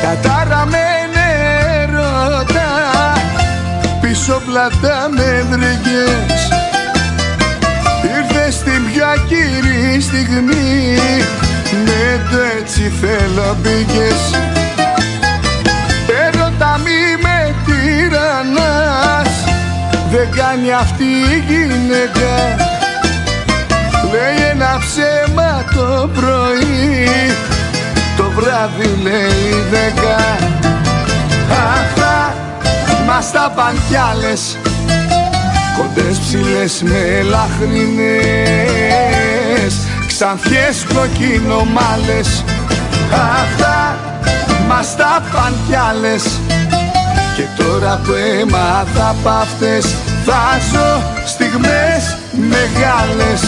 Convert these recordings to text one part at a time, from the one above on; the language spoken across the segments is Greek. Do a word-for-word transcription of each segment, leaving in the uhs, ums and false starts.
Κατάραμενε ρώτα, πίσω πλάτα με βρήκες. Ήρθες στην πιο ακύρη στιγμή, με το έτσι θέλω μπήκες. Έρωτα μη με τυραννάς, δεν κάνει αυτή η γυναίκα. Λέει ένα ψέμα το πρωί, το βράδυ λέει δέκα. Αυτά μας τα παν κι άλλες, κοντές ψηλές με λαχρινές, ξανθιές κοκκινομάλες. Αυτά μας τα παν κι άλλες, και τώρα που έμαθα απ' αυτές, θα ζω στιγμές μεγάλες.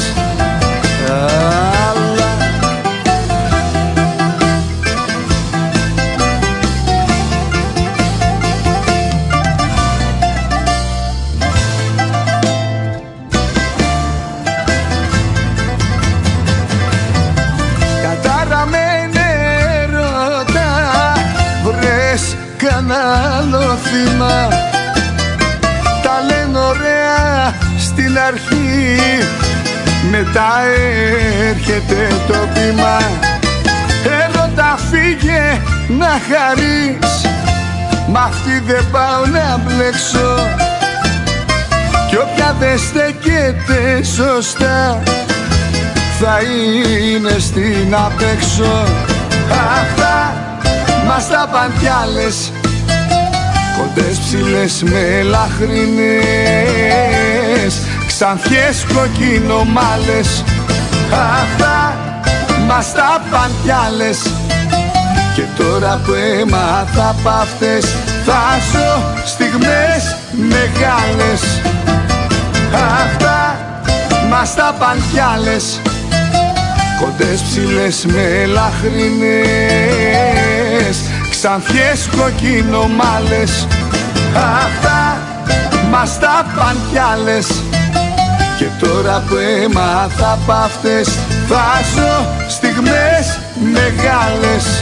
Αλλά κατάραμενε ρώτα, βρες κανένα άλλο θύμα. Τα λένε ωραία στην αρχή, μετά έρχεται το πείμα. Έρωτα φύγε να χαρείς, μ' αυτή δεν πάω να μπλέξω. Κι όποια δεν στέκεται σωστά, θα είναι στην απέξω. Αυτά μας τα παν κι άλλες, κοντές ψηλές με λαχρινές, ξανθιές κοκκινομάλες. Αυτά μας τα παν κι άλλες, και τώρα που έμαθα απ' αυτές, θα ζω στιγμές μεγάλες. Αυτά μας τα παν κι άλλες, κοντές ψηλές με λαχρινές, ξανθιές κοκκινομάλες. Αυτά μας τα παν κι άλλες, και τώρα που έμαθα απ' αυτές, θα ζω στιγμές μεγάλες.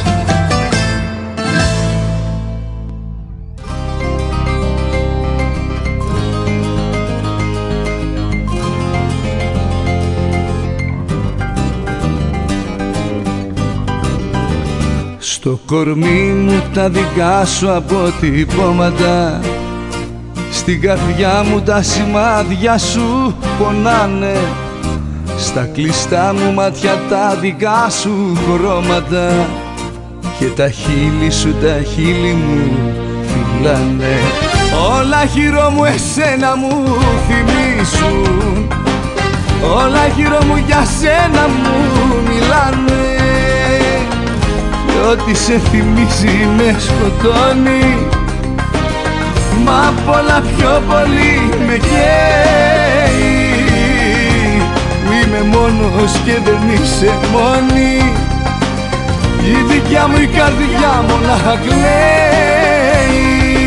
Στο κορμί μου τα δικά σου αποτυπώματα, στην καρδιά μου τα σημάδια σου πονάνε, στα κλειστά μου μάτια τα δικά σου χρώματα, και τα χείλη σου τα χείλη μου φυλάνε. Όλα γύρω μου εσένα μου θυμίσουν, όλα γύρω μου για σένα μου μιλάνε. Ό,τι σε θυμίζει με σκοτώνει, μα πολλά πιο πολύ με καίει. Που είμαι μόνος και δεν είσαι μόνη, η δικιά μου η καρδιά μονάχα κλαίει.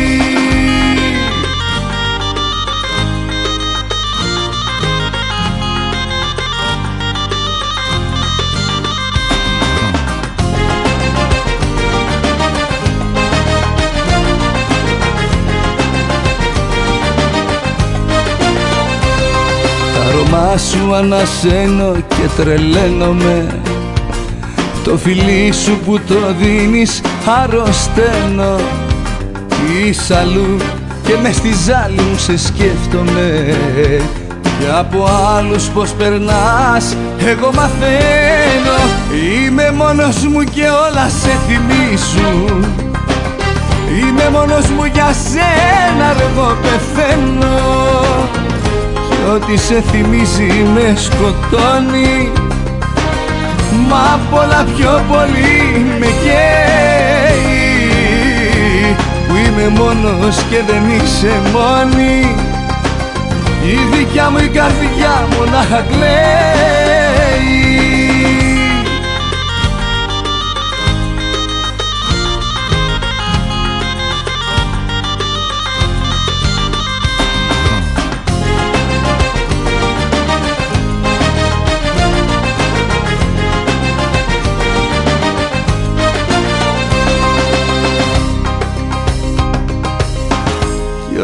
Μα σου ανασένω και τρελαίνομαι, το φιλί σου που το δίνεις αρρωσταίνω. Είσαι αλλού και μες στη ζάλη μου σε σκέφτομαι, και από άλλους πως περνάς εγώ μαθαίνω. Είμαι μόνος μου και όλα σε θυμίσουν, είμαι μόνος μου για σένα εγώ πεθαίνω. Ό,τι σε θυμίζει με σκοτώνει, μα πολλά πιο πολύ με καίει. Που είμαι μόνος και δεν είσαι μόνη, η δικιά μου η καρδιά μονάχα κλαίει.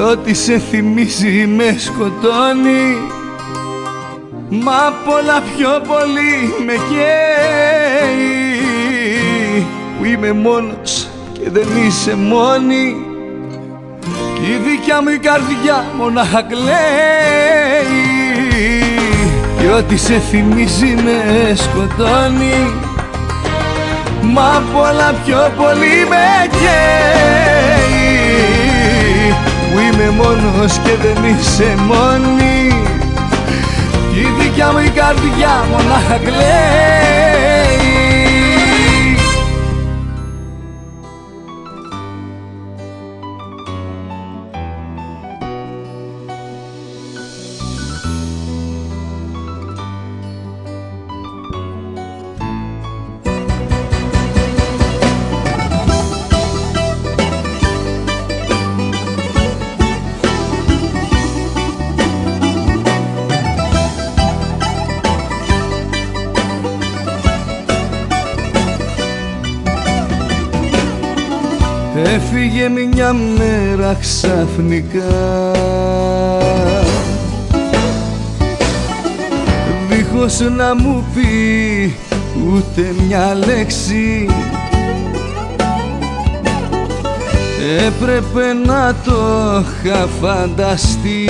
ό,τι σε θυμίζει με σκοτώνει, μα πολλά πιο πολύ με καίει που είμαι μόνος και δεν είσαι μόνη κι η δικιά μου η καρδιά μονάχα κλαίει κι ό,τι σε θυμίζει με σκοτώνει, μα πολλά πιο πολύ με καίει που είμαι μόνος και δεν είσαι μόνη κι η δικιά μου η καρδιά μονάχα κλαίει. Έφυγε μια μέρα ξαφνικά, δίχως να μου πει ούτε μια λέξη. Έπρεπε να το είχα φανταστεί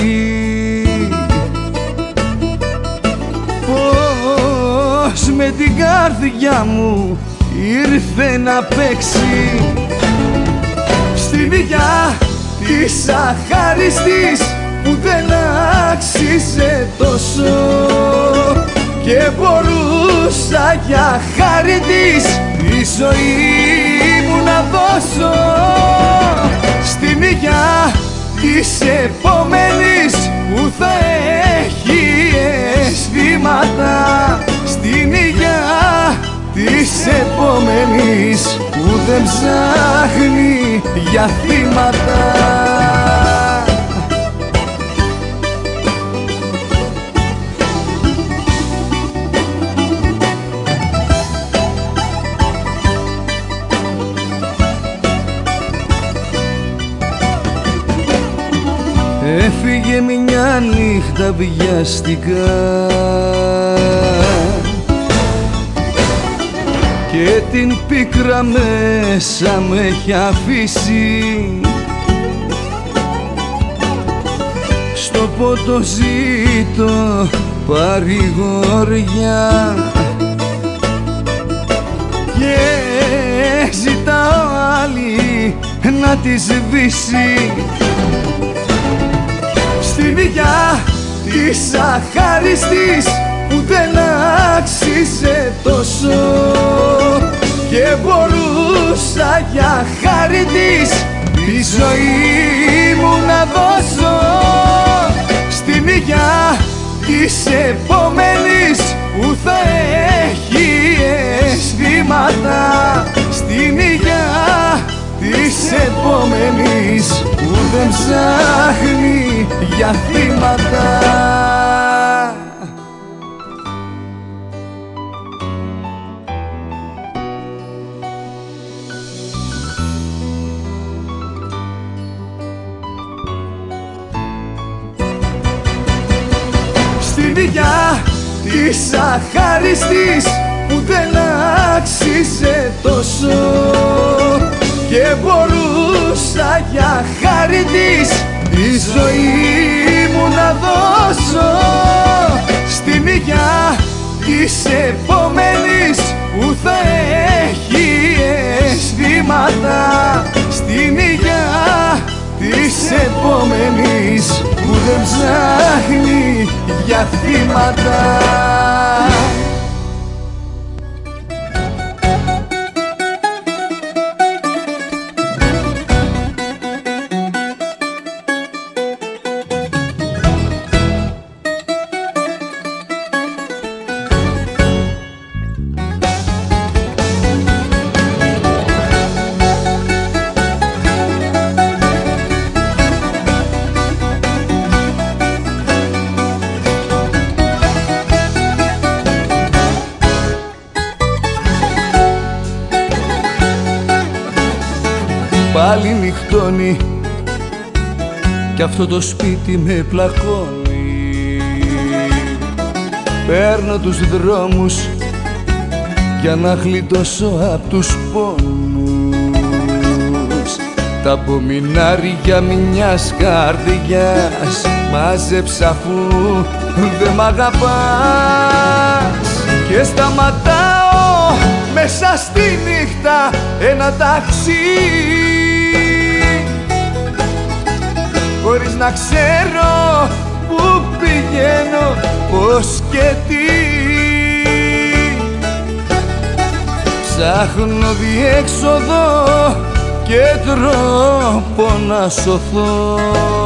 πως με την καρδιά μου ήρθε να παίξει στην δικιά της αχάριστης που δεν άξιζε τόσο και μπορούσα για χάρη της τη ζωή μου να δώσω στην υγειά της επόμενης που θα έχει αισθήματα, στην υγειά της επόμενης που δεν ψάχνει για θύματα. Έφυγε μια νύχτα βιαστικά και την πίκρα μέσα με έχει αφήσει, στο ποτό ζήτω παρηγοριά και ζητάω άλλη να τη σβήσει στην δικιά της αχάριστης που δεν άξιζε τόσο και μπορούσα για χάρη της τη ζωή μου να δώσω στην υγειά της επόμενης που θα έχει αισθήματα, στην υγειά της επόμενης που δεν ψάχνει για θύματα. Στην υγειά της αχάριστης που δεν άξιζε τόσο και μπορούσα για χάρη της τη ζωή μου να δώσω στην υγειά της επόμενης που θα έχει αισθήματα, στην υγειά της επόμενης που δεν ψάχνει για θύματα. Πάλι νυχτώνει κι αυτό το σπίτι με πλακώνει. Παίρνω τους δρόμους για να γλιτώσω απ' τους πόνους. Τα απομεινάρια μιας καρδιάς μάζεψα αφού δεν μ' αγαπάς. Και σταματάω μέσα στη νύχτα ένα ταξί, χωρίς να ξέρω που πηγαίνω, πώς και τι. Ψάχνω διέξοδο και τρόπο να σωθώ.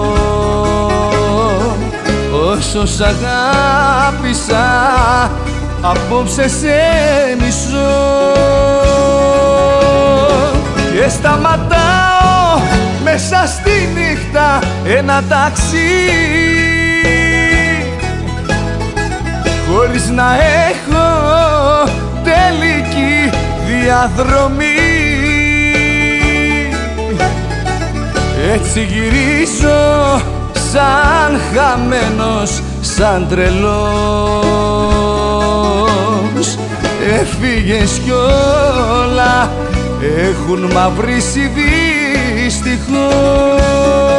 Όσο σ' αγάπησα, απόψε σε μισώ. Και σταματάω μέσα στη νύχτα ένα ταξί, χωρίς να έχω τελική διαδρομή. Έτσι γυρίζω σαν χαμένος, σαν τρελός. Έφυγες κι όλα έχουν μαυρίσει δυστυχώς.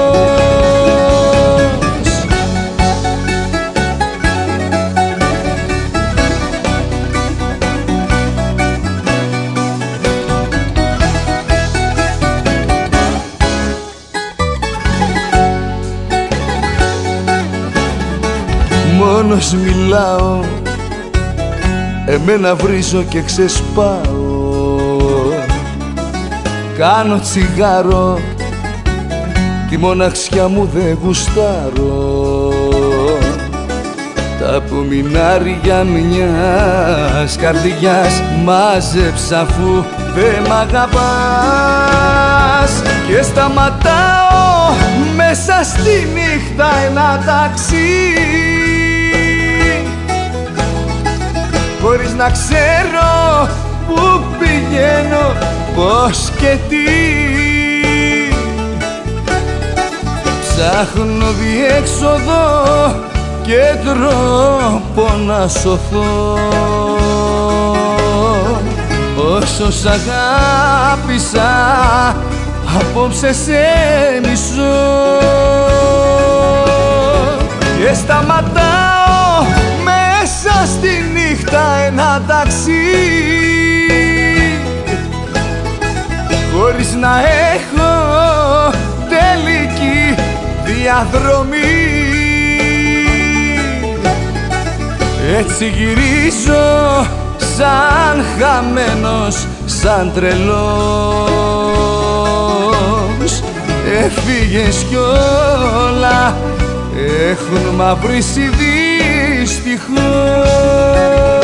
Μόνος μιλάω, εμένα βρίζω και ξεσπάω. Κάνω τσιγάρο, τη μοναξιά μου δεν γουστάρω. Τα απομεινάρια μιας καρδιάς μάζεψα αφού δεν μ' αγαπάς. Και σταματάω μέσα στη νύχτα ένα ταξί, χωρίς να ξέρω που πηγαίνω, πώς και τι. Ψάχνω διέξοδο και τρόπο να σωθώ. Όσο σ' αγάπησα, απόψε σε μισώ. Και σταματάω μέσα στη νύχτα ένα ταξί, χωρίς να έχω τελική διαδρομή. Έτσι γυρίζω σαν χαμένος, σαν τρελός. Έφυγες κι όλα έχουν μαυρίσει δυστυχώς.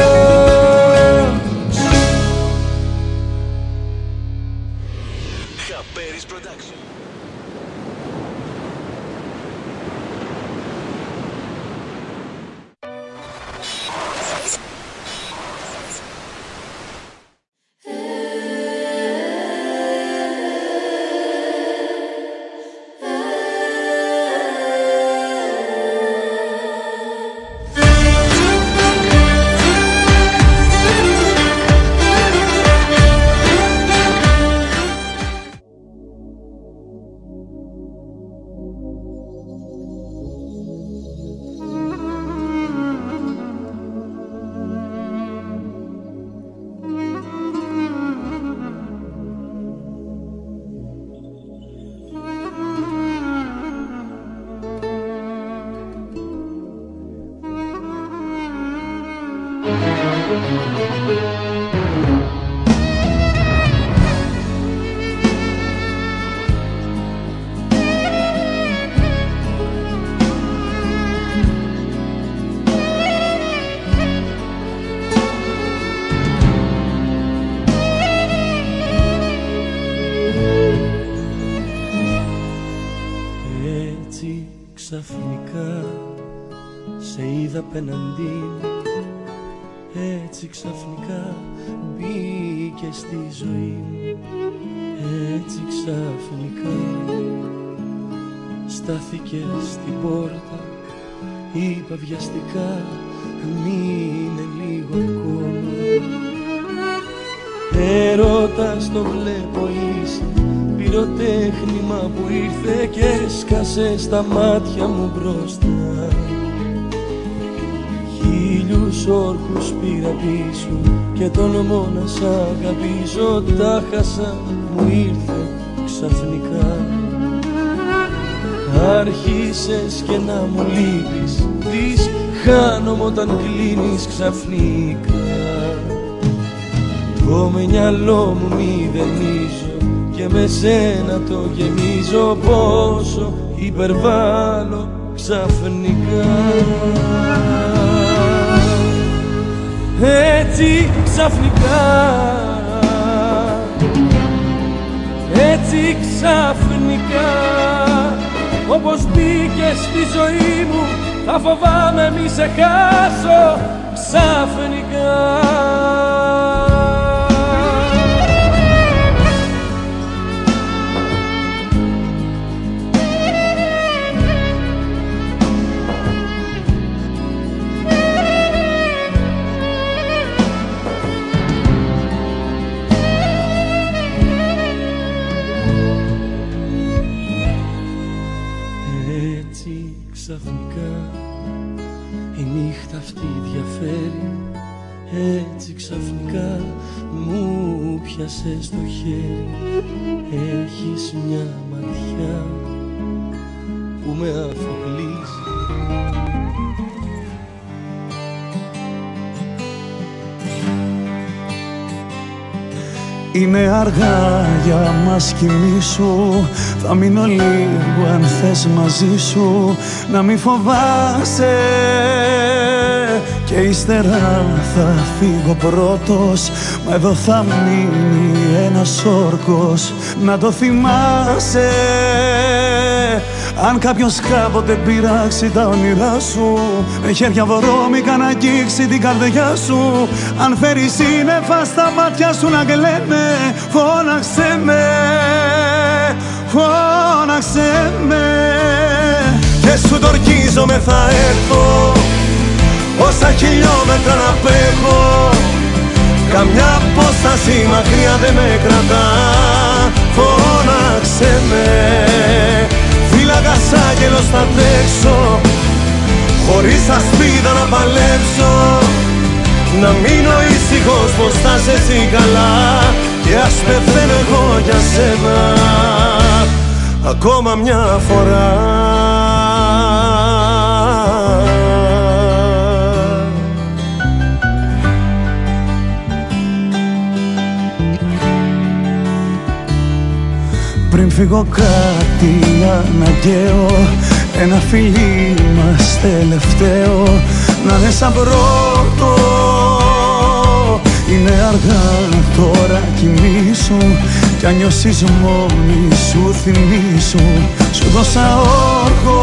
Ξαφνικά σε είδα απέναντί, έτσι ξαφνικά μπήκε στη ζωή μου. Έτσι ξαφνικά στάθηκε στην πόρτα. Είπα βιαστικά μείνε λίγο ακόμα. Έρωτας το βλέπω είσαι, πυροτέχνημα που ήρθε και έσκασε στα μάτια μου μπροστά. Χίλιους όρκους πήρα πίσω και τολμώ να σ' αγαπήσω. Τα χάσα, μου ήρθε ξαφνικά. Άρχισες και να μου λείπεις, δεις χάνομαι όταν κλείνεις ξαφνικά. Το μυαλό μου μηδενίζω και με σένα το γεμίζω. Πόσο υπερβάλλω ξαφνικά. Έτσι ξαφνικά, έτσι ξαφνικά, όπως μπήκες στη ζωή μου, θα φοβάμαι μη σε χάσω ξαφνικά. Ξαφνικά η νύχτα αυτή διαφέρει. Έτσι ξαφνικά μου πιάσε στο χέρι. Έχεις μια ματιά που με αφοπλίζει. Είναι αργά για μας κοιμήσου. Θα μείνω λίγο αν θες μαζί σου. Να μη φοβάσαι και ύστερα θα φύγω πρώτος. Μα εδώ θα μείνει ένας όρκος. Να το θυμάσαι αν κάποιος κάποτε πειράξει τα όνειρά σου. Με χέρια βρώμικα να αγγίξει την καρδιά σου. Αν φέρει σύννεφα στα μάτια σου να κλαίνε, φώναξε με, φώναξε με. Και σου τορκίζομαι θα έρθω, όσα χιλιόμετρα να απέχω. Καμιά απόσταση μακριά δεν με κρατά. Φώναξε με, φύλακας άγγελος θα τρέξω, χωρίς ασπίδα να παλέψω. Να μείνω ήσυχος πως θα είσαι εσύ καλά. Και ας πεθαίνω εγώ για σένα ακόμα μια φορά. Πριν φύγω κάτι αναγκαίο, ένα φιλί μας τελευταίο, να είναι σαν πρώτο. Είναι αργά τώρα κοιμήσου, κι αν νιώσεις μόνη σου θυμήσου. Σου δώσα όρκο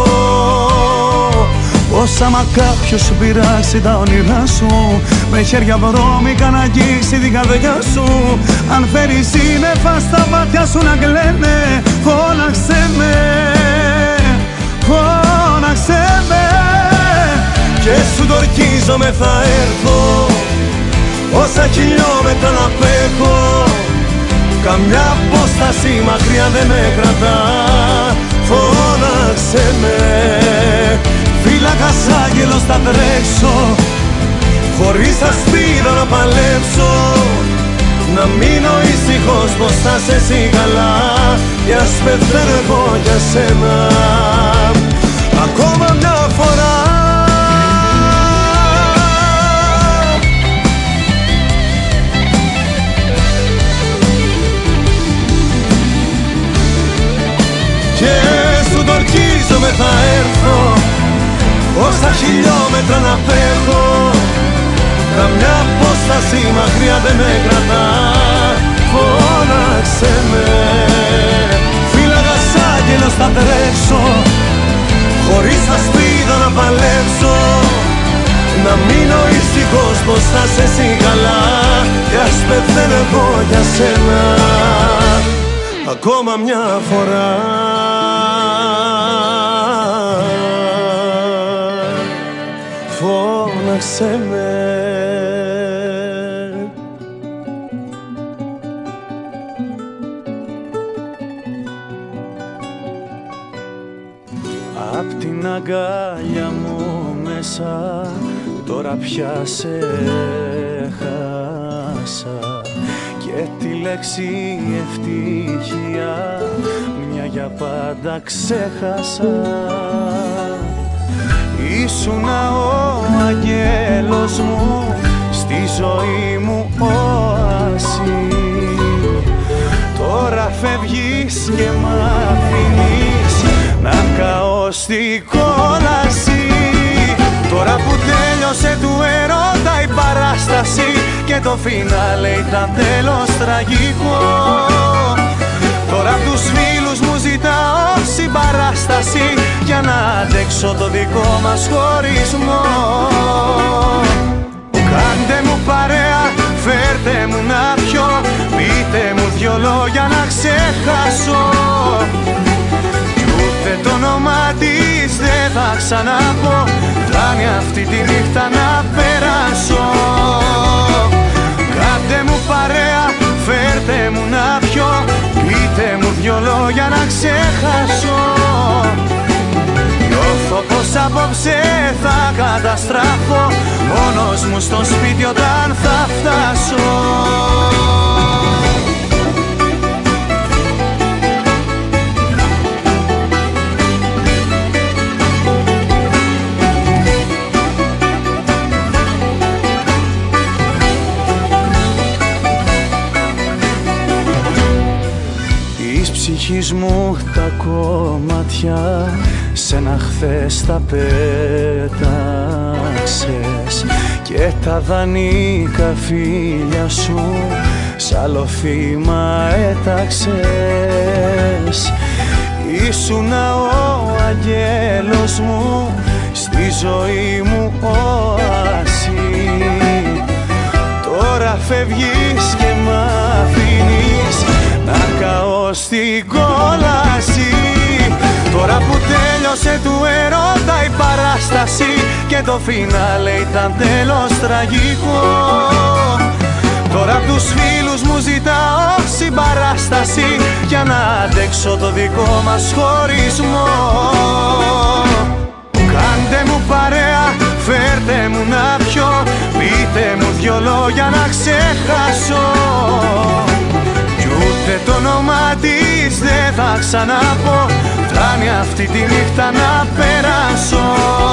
πως άμα κάποιος σου πειράξει τα όνειρά σου, με χέρια βρώμικα να αγγίξει την καρδιά σου. Αν φέρει σύννεφα στα μάτια σου να κλαίνε, φώναξε με, φώναξε με. Και σου τορκίζομαι θα έρθω, όσα χιλιόμετρα να απέχω. Καμιά απόσταση μακριά δεν με κρατά. Φώναξε με, φύλακας άγγελος θα τρέξω, χωρίς ασπίδα να παλέψω. Να μείνω ήσυχος πως θα είσαι εσύ καλά. Κι ας πεθαίνω εγώ για σένα ακόμα μια φορά. Και σου τορκίζομαι θα έρθω, όσα χιλιόμετρα να απέχω. Καμιά απόσταση μακριά δεν με κρατά. Φώναξε με, φύλακας άγγελος θα τρέξω, χωρίς ασπίδα να παλέψω. Να μείνω ήσυχος πως θα είσαι εσύ καλά. Κι ας πεθαίνω εγώ για σένα ακόμα μια φορά. φώναξε με. Απ' την αγκάλια μου μέσα τώρα πια σε χάσα και τη λέξη ευτυχία μια για πάντα ξέχασα. Ήσουνα ο αγγέλος μου, στη ζωή μου όαση. Τώρα φεύγεις και μ' αφήνεις να καώ στη κόλαση. Τώρα που τέλειωσε του έρωτα η παράσταση και το φινάλε ήταν τέλος τραγικό. Τώρα απ' τους φίλους μου ζητάω συμπαράσταση για να αντέξω το δικό μας χωρισμό. Κάντε μου παρέα, φέρτε μου να πιω, πείτε μου δυο λόγια να ξεχάσω. Κι ούτε το όνομά της δεν θα ξαναπώ, φτάνει αυτή τη νύχτα να περάσω. Κάντε μου παρέα, φέρτε μου να πιω, πείτε μου δυο λόγια να ξεχάσω. Νιώθω πως απόψε θα καταστραφώ, μόνος μου στο σπίτι όταν θα φτάσω. Ψυχής μου τα κομμάτια σ' ένα χθες τα πέταξες και τα δανείκα φίλια σου σ' άλλο θύμα έταξες. Ήσουνα ο αγγέλος μου, στη ζωή μου όαση. Τώρα φεύγεις και μ' αφήνεις να καώ στην κόλαση. Τώρα που τέλειωσε του έρωτα η παράσταση και το φινάλε ήταν τέλος τραγικό. Τώρα απ' τους φίλους μου ζητάω συμπαράσταση για να αντέξω το δικό μας χωρισμό. Κάντε μου παρέα, φέρτε μου να πιω, πείτε μου δυο λόγια να ξεχάσω. Ούτε το όνομά της δεν θα ξαναπώ, φτάνει αυτή τη νύχτα να περάσω.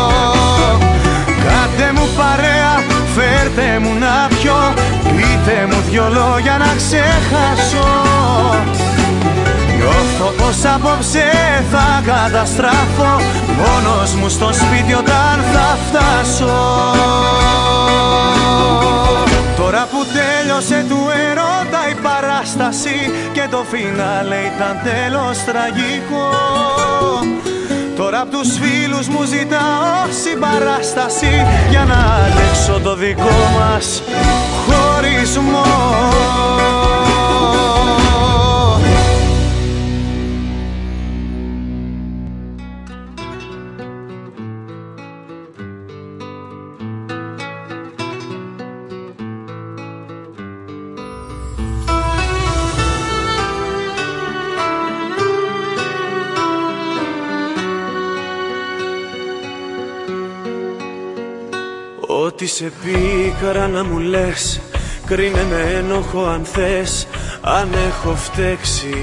Κάντε μου παρέα, φέρτε μου να πιω, πείτε μου δυο λόγια να ξεχάσω. Νιώθω πως απόψε θα καταστραφώ, μόνος μου στο σπίτι όταν θα φτάσω. Τώρα που τέλειωσε του έρωτα η παράσταση και το φινάλε ήταν τέλος τραγικό. Τώρα απ' τους φίλους μου ζητάω συμπαράσταση για να αντέξω το δικό μας χωρισμό. Ό,τι σε πίκαρα να μου λες, κρίνε με ένοχο αν θες, αν έχω φταίξει.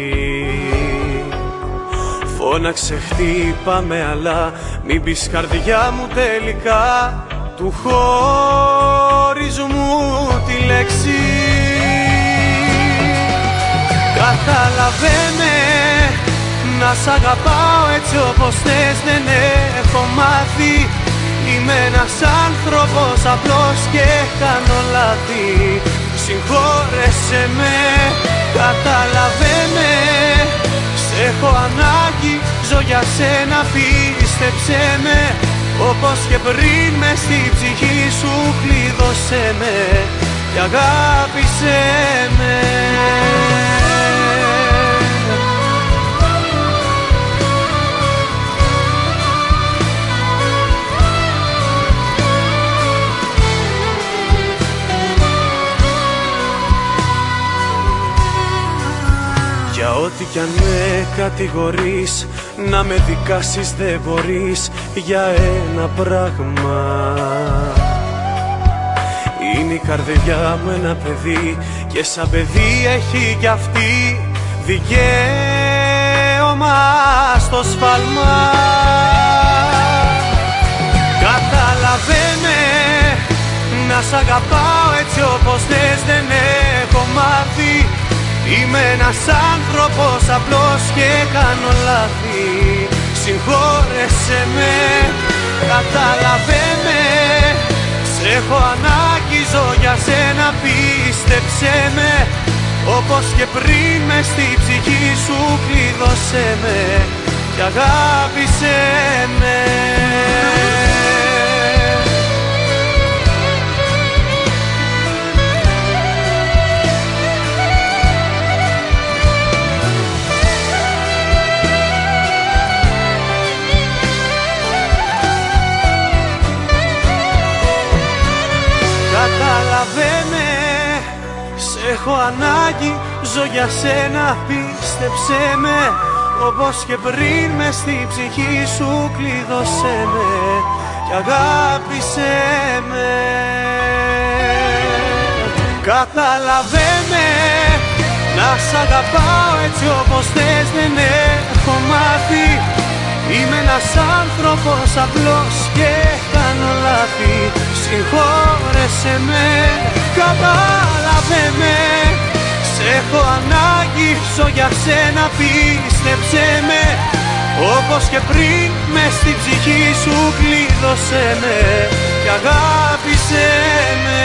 Φώναξε χτύπαμε αλλά μην πεις καρδιά μου τελικά του χωρισμού τη λέξη. Καταλαβαίνε να σ' αγαπάω έτσι όπως θες, δεν έχω μάθει. Είμαι ένας άνθρωπος απλός και κάνω λάθη. Συγχώρεσέ με, καταλαβαίνε, σ' έχω ανάγκη, ζω για σένα, πίστεψέ με. Όπως και πριν μες στη ψυχή σου κλείδωσέ με και αγάπησέ με. Για ό,τι κι αν με κατηγορείς, να με δικάσεις δεν μπορείς για ένα πράγμα. Είναι η καρδιά μου ένα παιδί και σαν παιδί έχει κι αυτή δικαίωμα στο σφάλμα. Καταλαβαίνε, να σ' αγαπάω έτσι όπως θες δεν έχω μάθει. Είμαι ένας άνθρωπος απλός και κάνω λάθη. Συγχώρεσέ με, καταλαβαίνε. Σ' έχω ανάγκη, ζω για σένα, πίστεψέ με. Όπως και πριν μες στη ψυχή σου κλείδωσέ με και αγάπησέ με. Καταλαβαίνε, σ' έχω ανάγκη, ζω για σένα, πίστεψέ με. Όπως και πριν μες στη ψυχή σου κλείδωσέ με και αγάπησέ με. Καταλαβαίνε, να σ' αγαπάω έτσι όπως θες δεν έχω μάθει. Είμαι ένας άνθρωπος απλός και κάνω λάθη. Συγχώρεσέ με, κατάλαβε με. Σ' έχω ανάγκη, ζω για σένα, πίστεψέ με. Όπως και πριν μες στη ψυχή σου κλείδωσέ με και αγάπησέ με.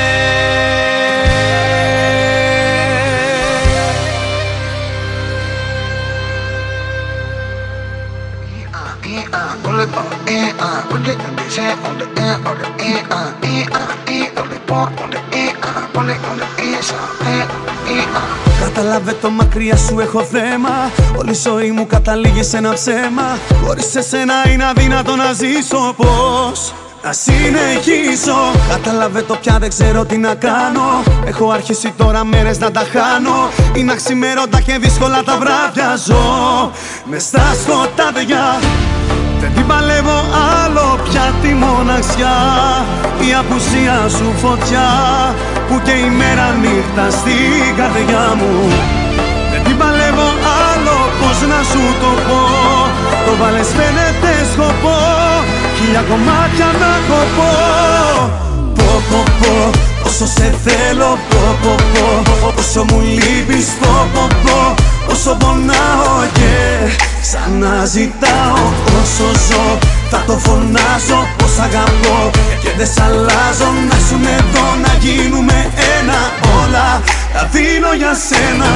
Pull it on the end, uh, put it on the end, on the end, on the end, uh, end, uh, end, on the part, on the end, uh, pull it on the end, end, end, uh. Κατάλαβε το, μακριά σου έχω θέμα. Όλη η ζωή μου καταλήγει σε ένα ψέμα. Χωρίς εσένα είναι αδύνατο να ζήσω, πώς να συνεχίσω. Κατάλαβε το, πια δεν ξέρω τι να κάνω. Έχω αρχίσει τώρα μέρες να τα χάνω. Είναι αξιμέρωτα και δύσκολα τα βράδια. Ζω μες στα σκοτάδια. Δεν την παλεύω άλλο πια τη μοναξιά. Η απουσία σου φωτιά που και η μέρα νύχτα στην καρδιά μου. Δεν την παλεύω άλλο, πώς να σου το πω. Το βάλες φαίνεται σκοπό, χίλια κομμάτια να κοπώ. Πω πω πω, όσο σε θέλω, πω πω πω. Όσο μου λείπεις, πω πω πω. Όσο πονάω και ξαναζητάω. Όσο ζω θα το φωνάζω πως αγαπώ και δεν σ' αλλάζω. Να σου εδώ, να γίνουμε ένα. Όλα τα δίνω για σένα.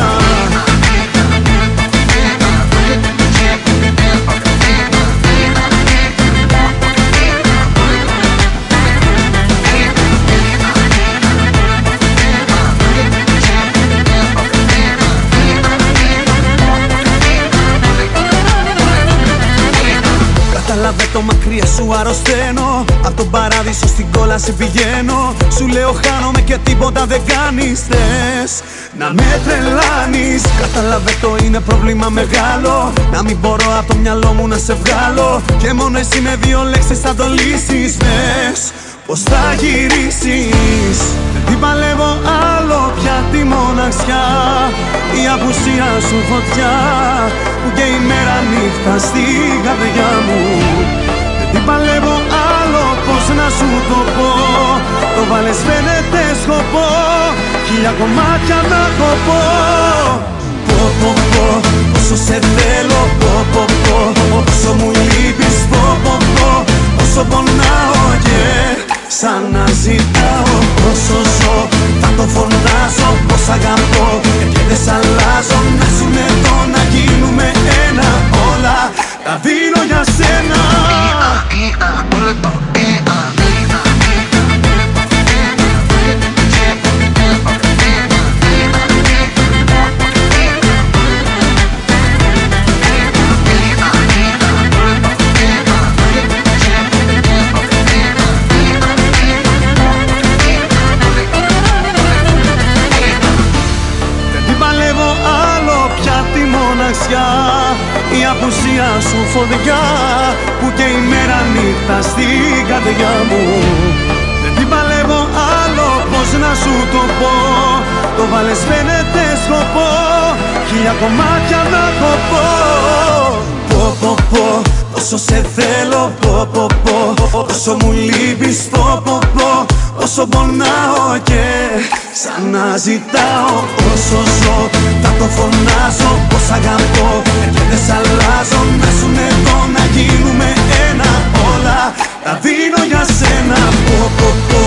Κατάλαβε το, μακριά σου αρρωσταίνω. Απ' τον παράδεισο στην κόλαση πηγαίνω. Σου λέω χάνομαι και τίποτα δεν κάνεις. Θες να με τρελάνεις. Κατάλαβε το, είναι πρόβλημα μεγάλο. Να μην μπορώ από το μυαλό μου να σε βγάλω. Και μόνο εσύ με δύο λέξεις θα το λύσεις. Πες πως θα γυρίσεις. Δεν την παλεύω άλλο πια τη μοναξιά. Η απουσία σου φωτιά που και η μέρα νύχτα στην καρδιά μου. Δεν την παλεύω άλλο, πώς να σου το πω. Το βάλες φαίνεται σκοπό, χίλια κομμάτια να κοπώ. Πω πω πω, όσο σε θέλω, πω πω πω. Όσο μου λείπεις, πω πω πω. Όσο πονάω και σαν να ζητάω. Όσο ζω θα το φωνάζω πως αγαπώ και δεν σ' αλλάζω. Να ζούμε εδώ, να γίνουμε ένα. Όλα τα δίνω για σένα. μοναξιά, η απουσία σου φωτιά που και η μέρα νύχτα στην καρδιά μου. Δεν την παλεύω άλλο, πώς να σου το πω. Το βάλες φαίνεται σκοπό, χίλια κομμάτια να κοπώ. Πω πω πω, όσο σε θέλω, πω πω πω. Όσο μου λείπεις, πω πω πω. Όσο πονάω και ξαναζητάω. Όσο ζω, θα το φωνάζω. Πως αγαπώ και δεν σ' αλλάζω. Να ζουν εδώ, να γίνουμε ένα. Όλα τα δίνω για σένα, πω πω πω.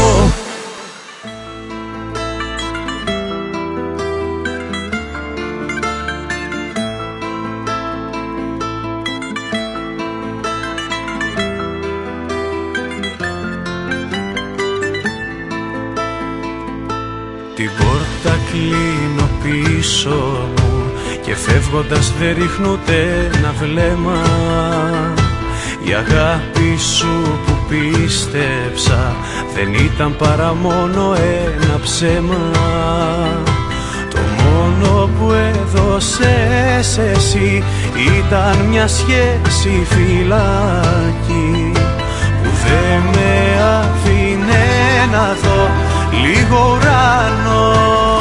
Την πόρτα κλείνω πίσω μου και φεύγοντας δεν ρίχνω ούτε ένα βλέμμα. Η αγάπη σου που πίστεψα δεν ήταν παρά μόνο ένα ψέμα. Το μόνο που έδωσες εσύ ήταν μια σχέση φυλάκι που δεν με άφηνε να δω λίγο ουρανό.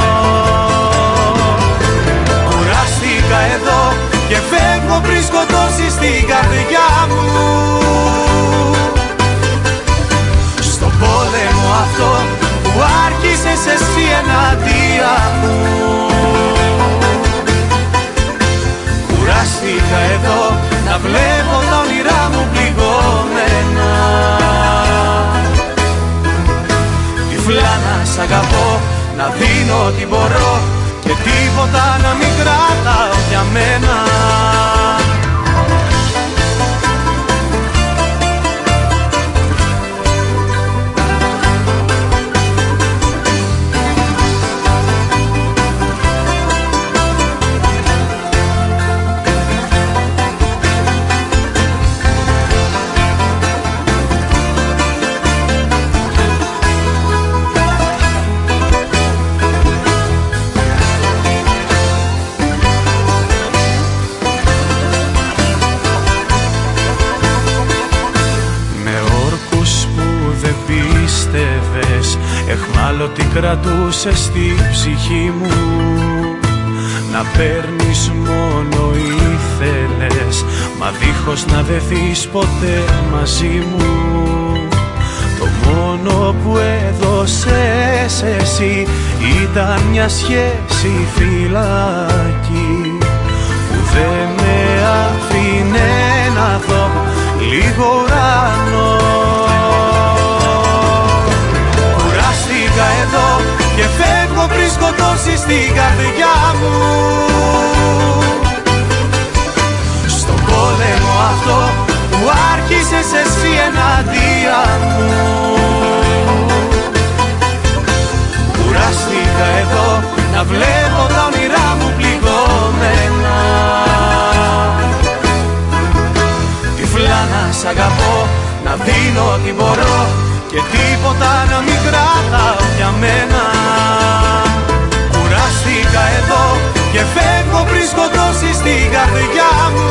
Κουράστηκα εδώ και φεύγω πριν σκοτώσεις την καρδιά μου. Στον πόλεμο αυτό που άρχισες εσύ εναντία μου. Κουράστηκα εδώ να βλέπω τα όνειρά μου πληγωμένα. Τυφλά να σ' αγαπώ, να δίνω ό,τι μπορώ και τίποτα να μην κρατάω για μένα. Εχμάλωτη κρατούσες στη ψυχή μου. Να παίρνεις μόνο ήθελες, μα δίχως να δεθείς ποτέ μαζί μου. Το μόνο που έδωσες εσύ ήταν μια σχέση φυλάκι που δεν με άφηνε να δω λίγο ουρανό. Εδώ και φεύγω πριν σκοτώσεις την καρδιά μου. Στον πόλεμο αυτό που άρχισες εσύ εναντία μου. Κουράστηκα εδώ να βλέπω τα όνειρά μου πληγωμένα. Τυφλά να σ' αγαπώ, να δίνω ό,τι μπορώ και τίποτα να μην κρατάω για μένα. Κουράστηκα εδώ και φεύγω πριν σκοτώσεις την καρδιά μου.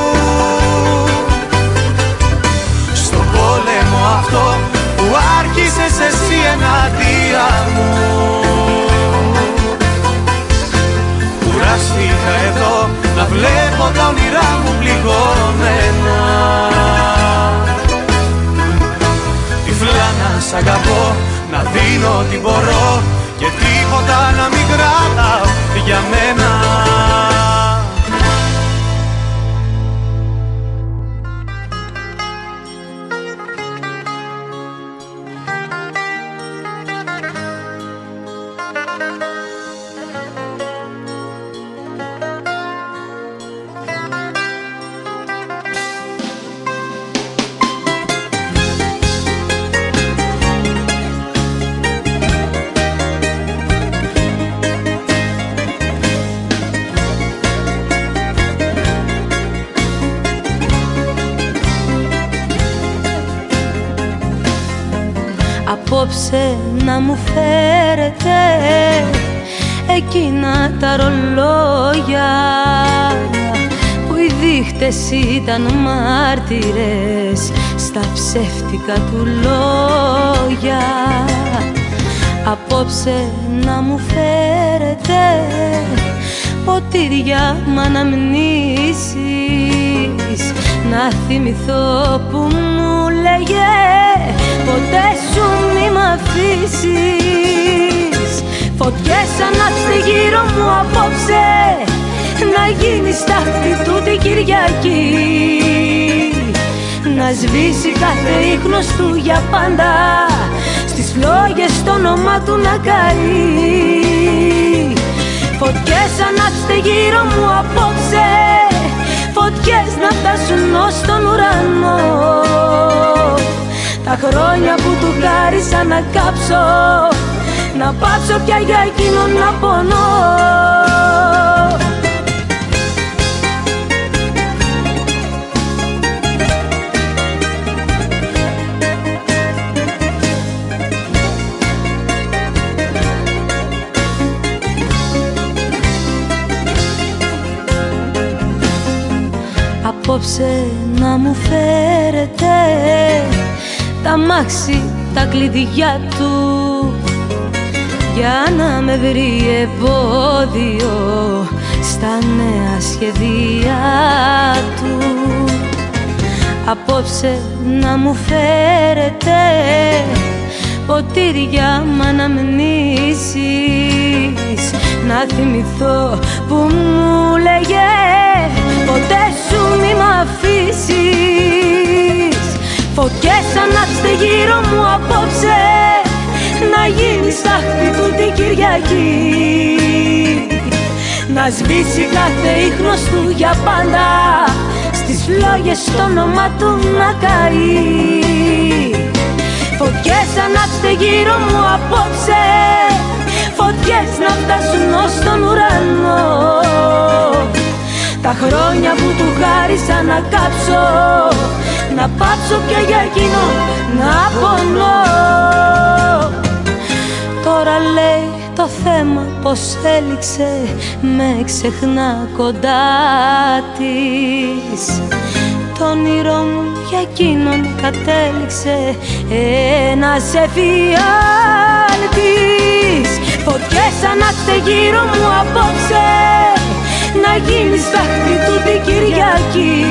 Στον πόλεμο αυτό που άρχισες εσύ εναντία μου. Κουράστηκα εδώ να βλέπω τα όνειρά μου πληγωμένα. Τυφλά να σ' αγαπώ, να δίνω ό,τι μπορώ και τίποτα να μην κρατάω για μένα. Απόψε να μου φέρετε εκείνα τα ρολόγια πολίτες ήταν μάρτυρες στα ψεύτικα του λόγια. Απόψε να μου φέρετε ποτήρια μ' αναμνήσεις, να θυμηθώ που μου λέγε ποτέ σου μη μ' αφήσεις. Φωτιές ανάψτε γύρω μου απόψε, να γίνει στάχτη του την Κυριακή, να σβήσει κάθε ίχνος του για πάντα, στις φλόγες το όνομά του να καεί. Φωτιές ανάψτε γύρω μου απόψε, φωτιές να φτάσουν ως τον ουρανό, τα χρόνια που του χάρισα να κάψω, να πάψω πια για εκείνον να πονώ. Απόψε να μου φέρετε τα μάξι, τα κλειδιά του, για να με βρει εμπόδιο στα νέα σχεδία του. Απόψε να μου φέρετε ποτήρια μ' αναμνήσεις, να θυμηθώ που μου λέγε ποτέ σου μη μ' αφήσεις. Φωτιές ανάψτε γύρω μου απόψε, να γίνει στάχτη του την Κυριακή, να σβήσει κάθε ίχνος του για πάντα, στις φλόγες το όνομά του να καεί. Φωτιές ανάψτε γύρω μου απόψε, φωτιές να φτάσουν ως τον ουρανό, τα χρόνια που του χάρισα να κάψω, να πάψω πια για εκείνο να πονώ. Τώρα λέει το θέμα πως έληξε, με ξεχνά κοντά της. Το όνειρό μου για εκείνον κατέληξε ένας εφιάλτης. Φωτιές ανάψτε γύρω μου απόψε, να γίνει στάχτη του την Κυριακή,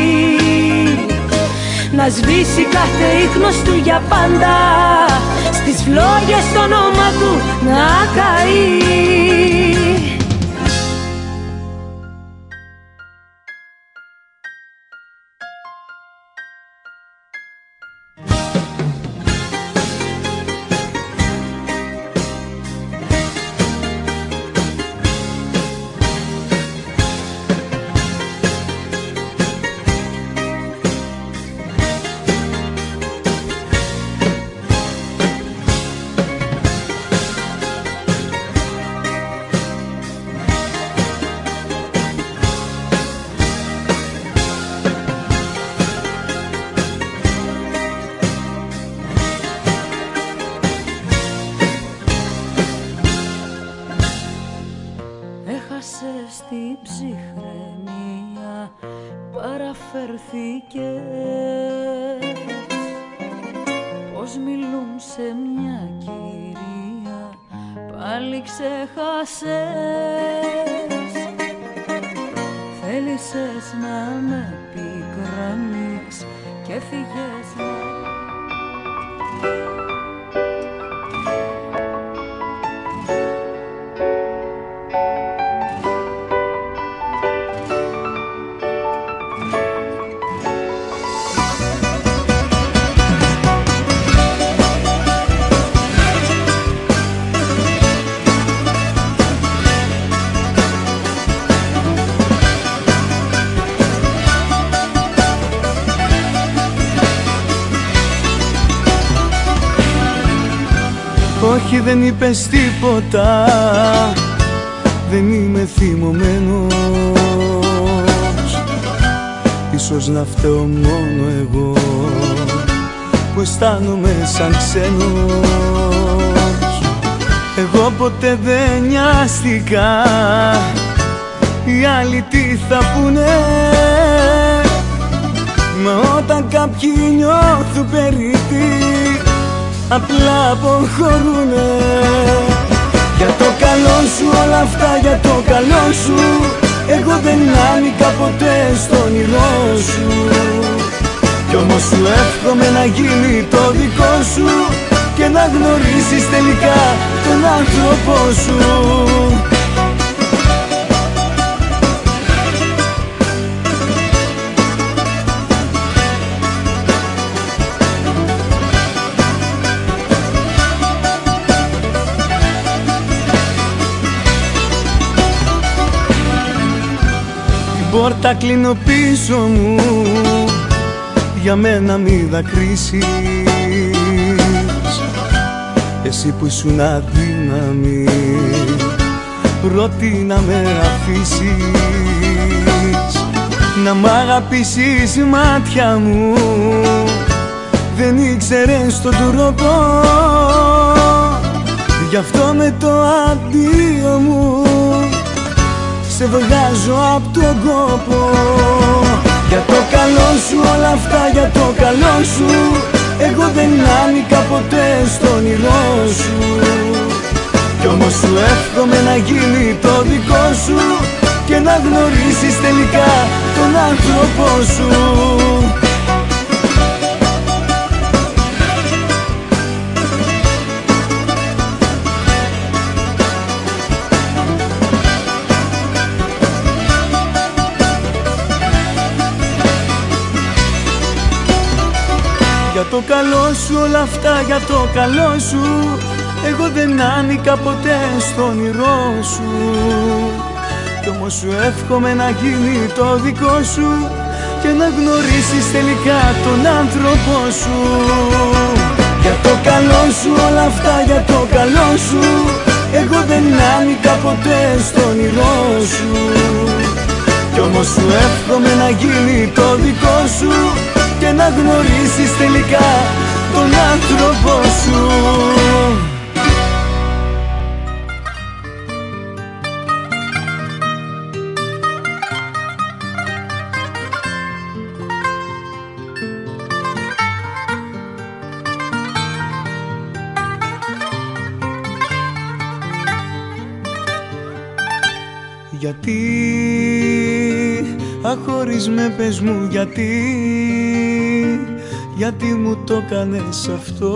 να σβήσει κάθε ίχνος του για πάντα, στις φλόγες το όνομα του να καεί. Στην ψυχραιμία παραφερθήκες, πως μιλούν σε μια κυρία πάλι ξέχασες. Θέλησες να με πικρανείς και φύγες να... Όχι, δεν είπες τίποτα, δεν είμαι θυμωμένος. Ίσως να φταίω μόνο εγώ που αισθάνομαι σαν ξένος. Εγώ ποτέ δεν νοιάστηκα οι άλλοι τι θα πούνε. κάποιοι νιώθουν περίτη, απλά αποχωρούνε. Για το καλό σου όλα αυτά, για το καλό σου, εγώ δεν άνοικα ποτέ στο όνειρό σου. Κι όμως σου εύχομαι να γίνει το δικό σου και να γνωρίσεις τελικά τον άνθρωπό σου. Την πόρτα κλείνω πίσω μου, για μένα μη δακρύσεις, εσύ που ήσουν αδύναμη, πρώτη να με αφήσεις. Να μ' αγαπήσεις μάτια μου, δεν ήξερες τον τρόπο, γι' αυτό με το αντίο μου σε βγάζω απ' τον κόπο. Για το καλό σου όλα αυτά, για το καλό σου, εγώ δεν άνοικα ποτέ στο όνειρό σου. Κι όμως σου εύχομαι να γίνει το δικό σου και να γνωρίσεις τελικά τον άνθρωπό σου. Για το καλό σου όλα αυτά, για το καλό σου, εγώ δεν άνοικα ποτέ στο όνειρό σου. Κι όμως σου εύχομαι να γίνει το δικό σου και να γνωρίσεις τελικά τον άνθρωπό σου. Για το καλό σου όλα αυτά, για το καλό σου, εγώ δεν άνοικα ποτέ στο όνειρό σου. Κι όμως σου εύχομαι να γίνει το δικό σου και να γνωρίσεις τελικά τον άνθρωπό σου. Γιατί, αχωρίς με πες μου γιατί, γιατί μου το κάνες αυτό,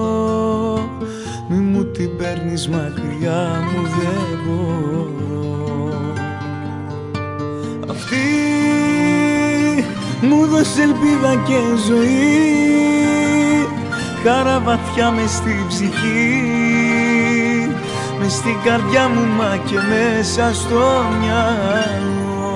μη μου την παίρνεις μακριά μου, δεν μπορώ. Αυτή μου δώσε ελπίδα και ζωή, χαρά βαθιά μες στη ψυχή, μες στην καρδιά μου μα και μέσα στο μυαλό.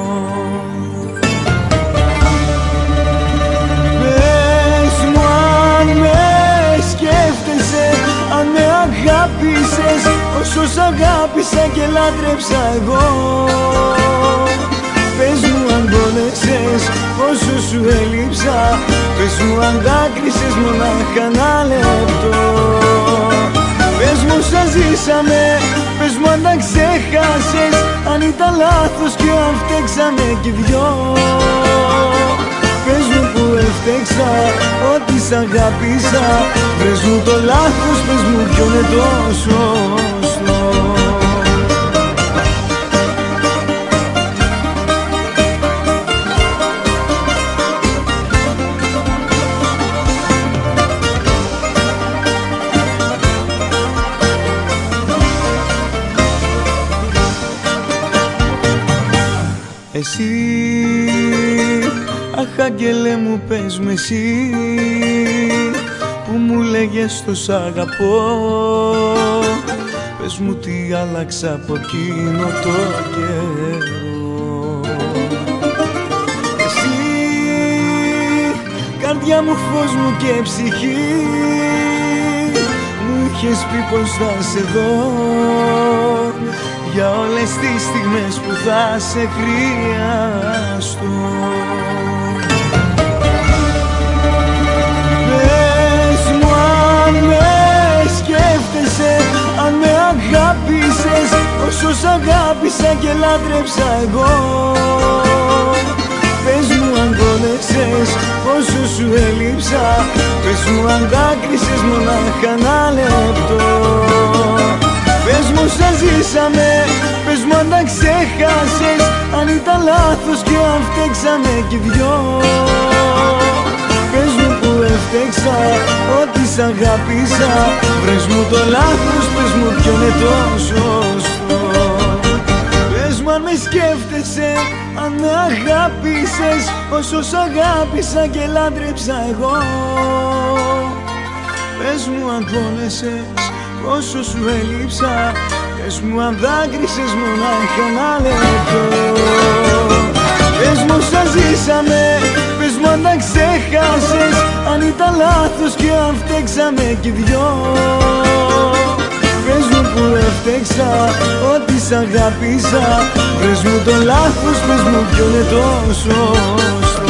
Αν με αγάπησες όσο σ' αγάπησα και λάτρεψα εγώ, πες μου αν πόνεσες όσο σου έλειψα, πες μου αν δάκρυσες μονάχα ένα λεπτό. Πες μου σαν ζήσαμε, πες μου αν τα ξέχασες, αν ήταν λάθος και αν φταίξαμε κι οι δυο. Πες μου που έφτεξα, ότι σ' αγάπησα, πες μου το λάθος, πες μου ποιο είναι το σωστό. Εσύ, αχ αγγέλε μου πες με εσύ, που μου λέγες το σ' αγαπώ, πες μου τι άλλαξα από εκείνο το καιρό. Εσύ, καρδιά μου, φως μου και ψυχή, μου είχες πει πως θα σε δω, για όλες τις στιγμές που θα σε χρειαστώ. Πες μου αν με σκέφτεσαι, αν με αγάπησες όσο σ' αγάπησα και λάτρεψα εγώ. Πες μου αν πόνεσες όσο σου έλειψα, έλειψα. Πες μου αν δάκρυσες μονάχα ένα λεπτό. Πες μου όσα ζήσαμε, πες μου αν τα ξέχασες, αν ήταν λάθος και αν φταίξαμε κι δυο. Πες μου που έφτεξα, ότι σ' αγάπησα. Βρες μου το λάθος, πες μου ποιο είναι το σωστό. Πες μου αν με σκέφτεσαι, αν με αγάπησες όσο σ' αγάπησα και λάτρεψα εγώ. Πες μου αν πόνεσες, πόσο σου έλειψα. Πες μου αν δάκρυσες μονάχα ένα λεπτό. Πες μου όσα ζήσαμε, πες μου αν τα ξέχασες, αν ήταν λάθος και αν φταίξαμε κι δυο. Πες μου που έφτεξα, ότι σ' αγάπησα. Πες μου το λάθος, πες μου ποιο είναι το σωστό.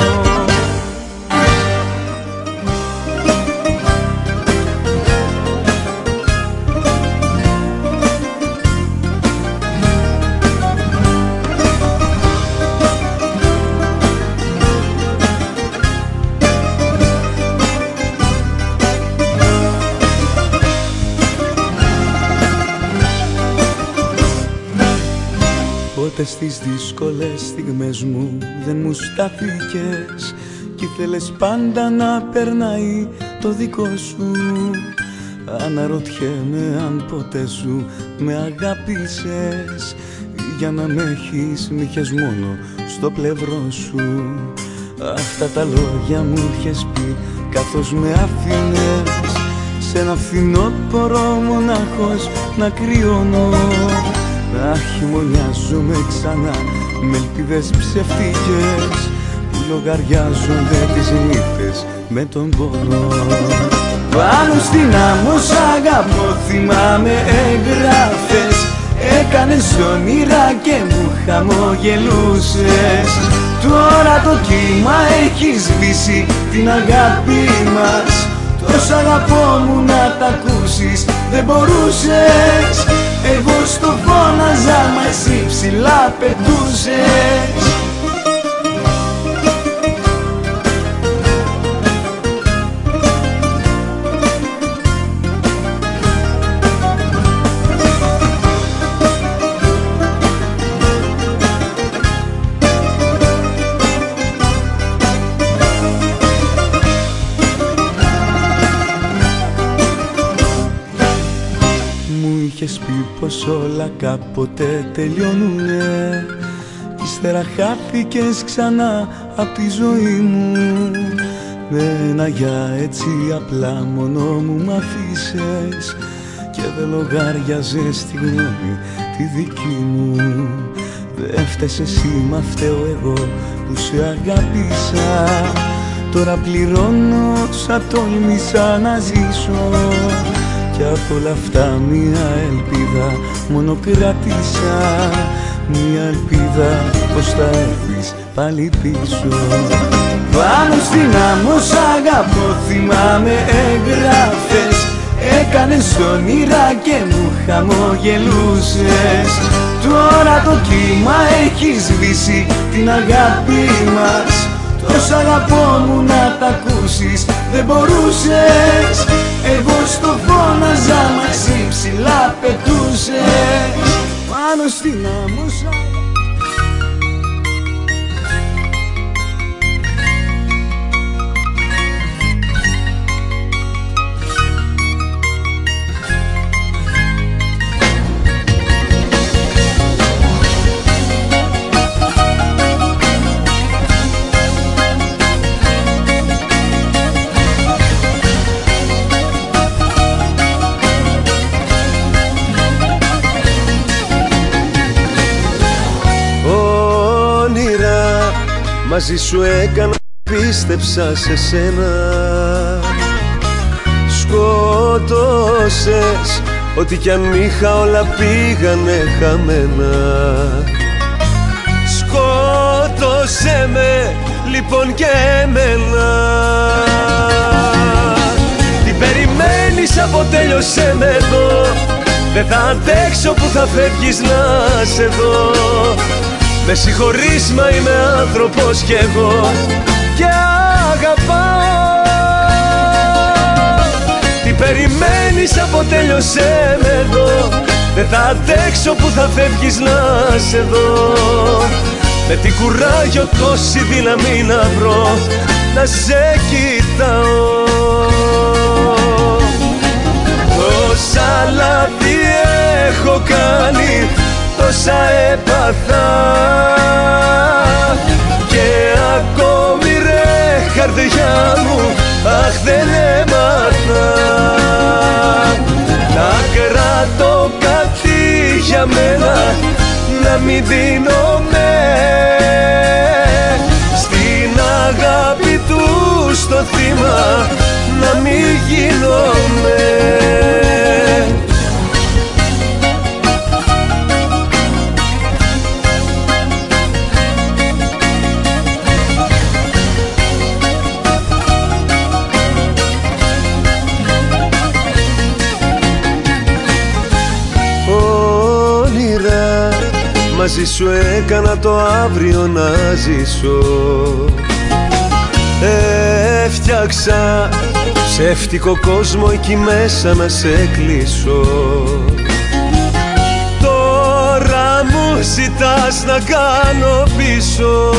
Πότε στις δύσκολες στιγμές μου δεν μου στάθηκες κι ήθελες πάντα να περνάει το δικό σου. Αναρωτιέμαι αν ποτέ σου με αγάπησες ή για να με έχεις μ' είχες μόνο στο πλευρό σου. Αυτά τα λόγια μου είχες πει καθώς με αφήνες σε ένα φθινόπωρο μονάχος να κρυώνω. Να χειμωνιάζομαι ξανά με ελπίδες ψευτικές που λογαριάζονται τις νύχτες με τον πόνο. Πάνω στην άμμο σ' αγαπώ, θυμάμαι εγγράφες. Έκανες όνειρα και μου χαμογελούσες. Τώρα το κύμα έχει σβήσει την αγάπη μας. Τόσο αγαπώ μου να τ' ακούσεις δεν μπορούσες. Εγώ στο φώναζα μα εσύ ψηλά πετούσες. Είχες πει πως όλα κάποτε τελειώνουνε κι ύστερα χάθηκες ξανά απ' τη ζωή μου. Με ένα για έτσι απλά μόνο μου μ' αφήσες και δεν λογάριαζες τη γνώμη τη δική μου. Δεν φταίς εσύ μα φταίω εγώ που σε αγάπησα. Τώρα πληρώνω σαν τόλμησα να ζήσω κι απ' όλα αυτά μια ελπίδα μόνο κράτησα. Μια ελπίδα πως θα έρθεις πάλι πίσω. Πάνω στην άμμο σ' αγαπώ, θυμάμαι εγγράφες. Έκανες όνειρα και μου χαμογελούσες. Τώρα το κύμα έχει σβήσει την αγάπη μας. Τόσο αγαπώ μου να τ' ακούσεις δεν μπορούσες. Εγώ στο φώναζα μα εσύ ψηλά πετούσες. Πάνω στην άμμο σ' αγαπώ. Μαζί σου έκανα, πίστεψα σε σένα. Σκότωσες, ό,τι κι αν είχα όλα πήγανε χαμένα. Σκότωσέ με, λοιπόν και εμένα. Τι περιμένεις, αποτέλειωσέ με εδώ. Δεν θα αντέξω που θα φεύγεις να σε δω. Με συγχωρείς μα είμαι άνθρωπος κι εγώ και αγαπάω. περιμένεις, αποτέλειωσέ με εδώ. Δεν θα αντέξω που θα φεύγεις να σε δω. Με τι κουράγιο, τόση δύναμη να βρω, να σε κοιτάω. Τόσα λάθη έχω κάνει, τόσα έπαθα, και ακόμη ρε καρδιά μου, αχ δεν έμαθα να κρατώ κάτι για μένα, να μην δίνομαι στην αγάπη του στο θύμα, να μην γίνομαι. Μαζί σου έκανα το αύριο να ζήσω. Έφτιαξα ψεύτικο κόσμο εκεί μέσα να σε κλείσω. Τώρα μου ζητάς να κάνω πίσω.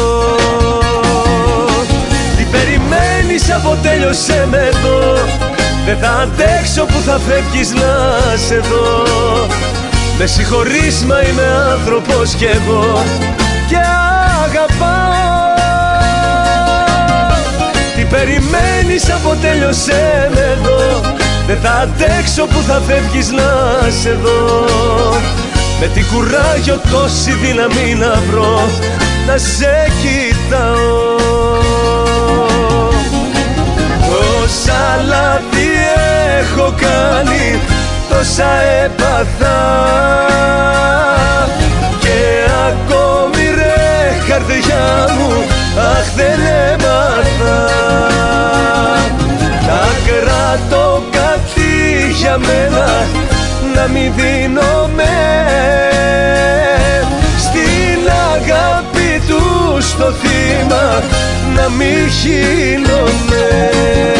Τι περιμένεις, αποτέλειωσέ με εδώ. Δεν θα αντέξω που θα φεύγεις να σε δω. Με συγχωρείς, μα είμαι άνθρωπος κι εγώ και αγαπάω. Τι περιμένεις, αποτέλειωσέ με εδώ. Δεν θα αντέξω που θα φεύγεις να σε δω. Με τι κουράγιο, τόση δύναμη να βρω, να σε κοιτάω. Τόσα λάθη έχω κάνει, τόσα έπαθα, και ακόμη ρε καρδιά μου, αχ δεν έμαθα να κρατώ κάτι για μένα, να μην δίνομαι στην αγάπη του στο θύμα, να μην γίνομαι.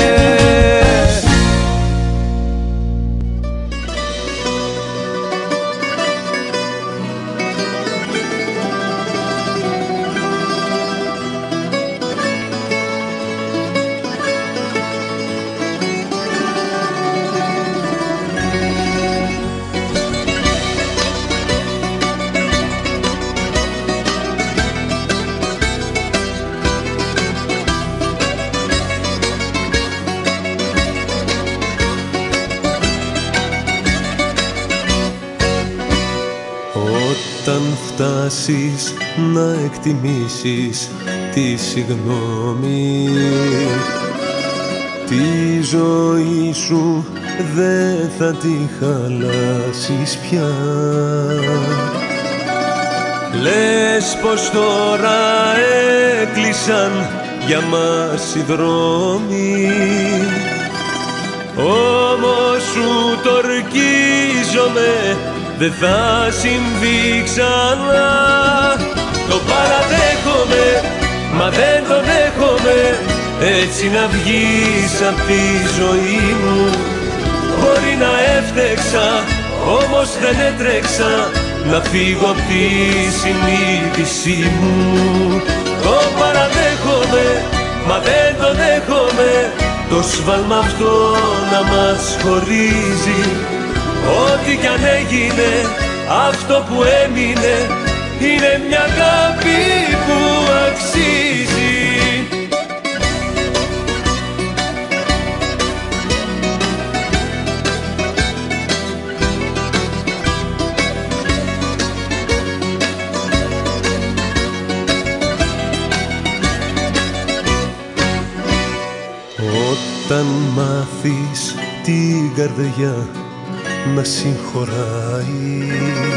Όταν φτάσεις να εκτιμήσεις τη συγγνώμη, τη ζωή σου δεν θα τη χαλάσεις πια. Λες πως τώρα έκλεισαν για μας οι δρόμοι, όμως σου το ορκίζομαι, δεν θα συμβεί ξανά. Το παραδέχομαι, μα δεν το δέχομαι, έτσι να βγεις απ' τη ζωή μου. Μπορεί να έφτεξα, όμως δεν έτρεξα να φύγω απ' τη συνείδησή μου. Το παραδέχομαι, μα δεν το δέχομαι, το σβάλμα αυτό να μας χωρίζει. Ό,τι κι αν έγινε, αυτό που έμεινε είναι μια αγάπη που αξίζει. Όταν μάθεις την καρδιά να συγχωράει,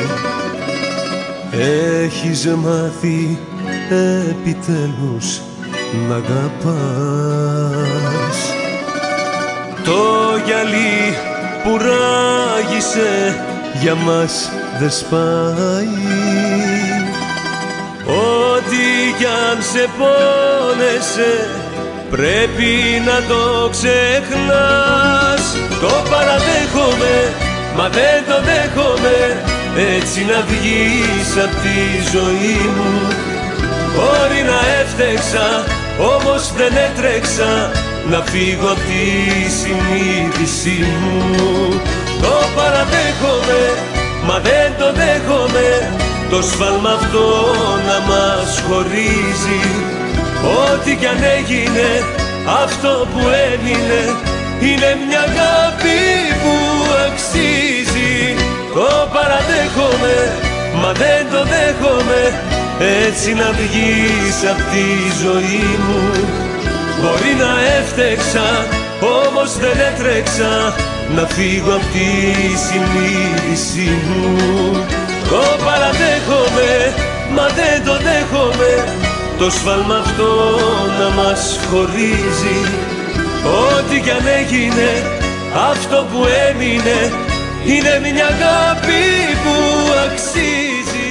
έχεις μάθει επιτέλους να αγαπάς. Το γυαλί που ράγισε για μας δεν σπάει, ό,τι κι αν σε πόνεσε πρέπει να το ξεχνάς. Το παραδέχομαι, μα δεν το δέχομαι, έτσι να βγεις απ' τη ζωή μου. Μπορεί να έφτεξα, όμως δεν έτρεξα να φύγω απ' τη συνείδησή μου. Το παραδέχομαι, μα δεν το δέχομαι, το σφάλμα αυτό να μας χωρίζει. Ό,τι κι αν έγινε, αυτό που έμεινε είναι μια αγάπη που αξίζει. Το παραδέχομαι, μα δεν το δέχομαι, έτσι να βγεις απ' τη ζωή μου. Μπορεί να έφτεξα, όμως δεν έτρεξα να φύγω απ' τη συνείδησή μου. Το παραδέχομαι, μα δεν το δέχομαι, το σφάλμα αυτό να μας χωρίζει. Ό,τι κι αν έγινε, αυτό που έμεινε είναι μια αγάπη που αξίζει.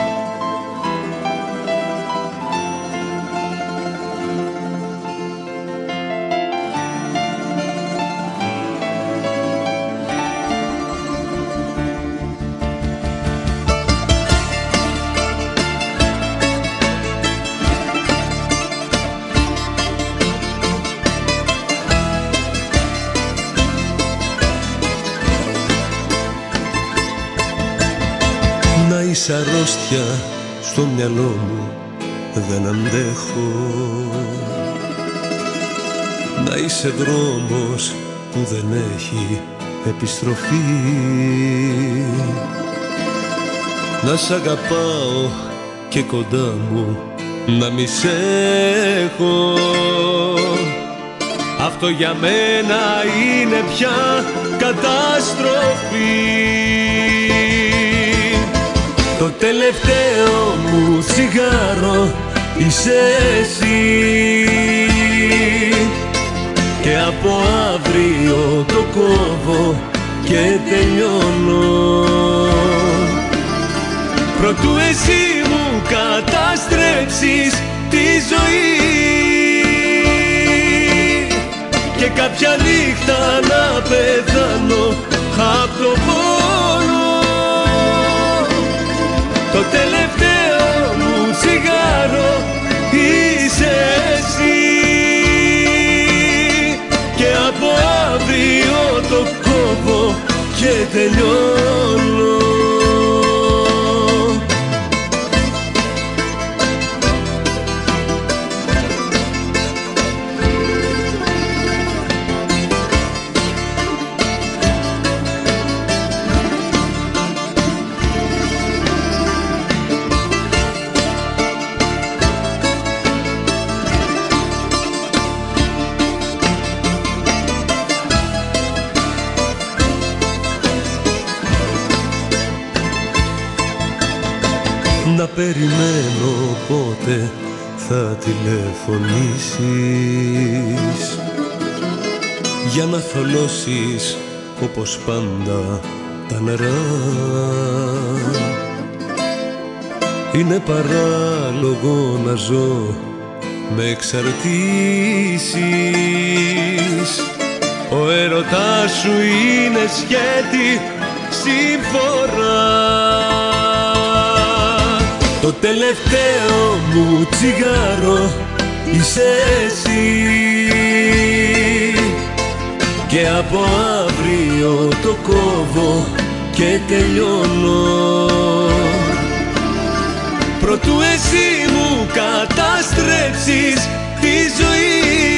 Είσαι αρρώστια στο μυαλό μου, δεν αντέχω. Να είσαι δρόμος που δεν έχει επιστροφή. Να σ' αγαπάω και κοντά μου να μη σ' έχω. Αυτό για μένα είναι πια καταστροφή. Το τελευταίο μου τσιγάρο είσαι εσύ, και από αύριο το κόβω και τελειώνω. Προτού εσύ μου καταστρέψεις τη ζωή και κάποια νύχτα να πεθάνω απ' το πόνο. Το τελευταίο μου τσιγάρο είσαι εσύ, και από αύριο το κόβω και τελειώνω. Να περιμένω πότε θα τηλεφωνήσεις, για να θολώσεις όπως πάντα τα νερά. Είναι παράλογο να ζω με εξαρτήσεις. Ο έρωτάς σου είναι σκέτη συμφορά. Το τελευταίο μου τσιγάρο είσαι εσύ, και από αύριο το κόβω και τελειώνω. Προτού εσύ μου καταστρέψεις τη ζωή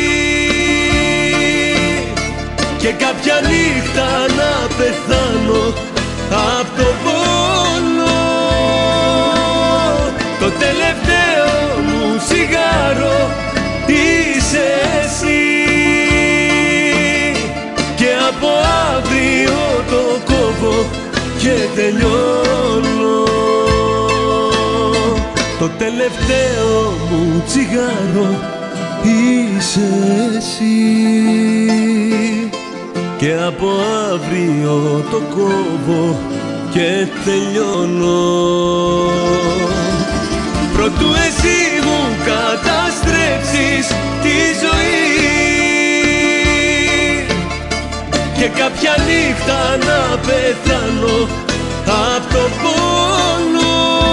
και κάποια νύχτα να πεθάνω απ' το πόνο. Το τελευταίο μου τσιγάρο είσαι εσύ, και από αύριο το κόβω και τελειώνω. Το τελευταίο μου τσιγάρο είσαι εσύ, και από αύριο το κόβω και τελειώνω. Προτού εσύ μου καταστρέψεις τη ζωή και κάποια νύχτα να πεθάνω απ' το πόνο.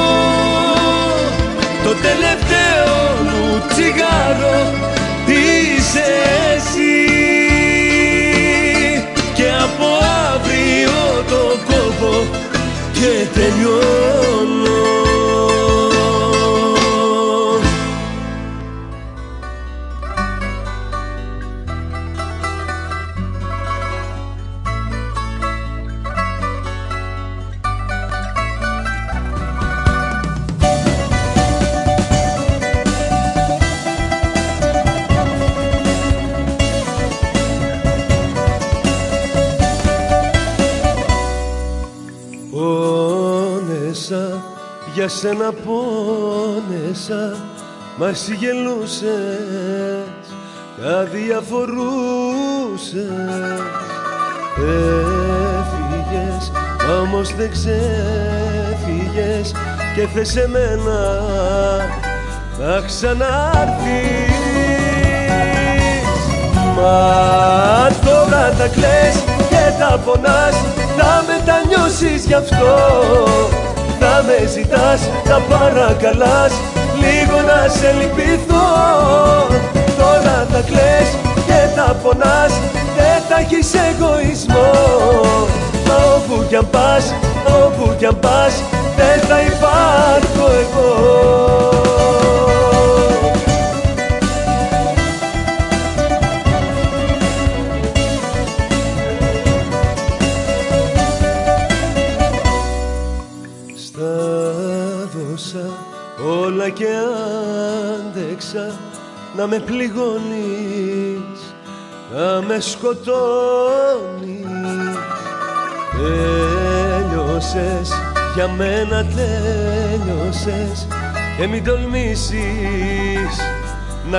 Το τελευταίο μου τσιγάρο είσαι εσύ και από αύριο το κόβω και τελειώνω. Για σένα πόνεσα, μα εσύ γελούσες, αδιαφορούσες. Έφυγες, όμως δεν ξέφυγες και θες εμένα να ξανάρθεις. Μα τώρα τα κλαις και τα πονάς, θα μετανιώσεις γι' αυτό. Θα με ζητάς, θα παρακαλάς, λίγο να σε λυπηθώ. Τώρα τα κλαις και τα πονάς, δεν θα έχεις εγωισμό. Μα όπου κι αν πας, όπου κι αν πας, δεν θα υπάρχω εγώ. Όλα και άντεξα να με πληγώνεις, να με σκοτώνεις. Τέλειωσες, για μένα τέλειωσες και μην τολμήσεις να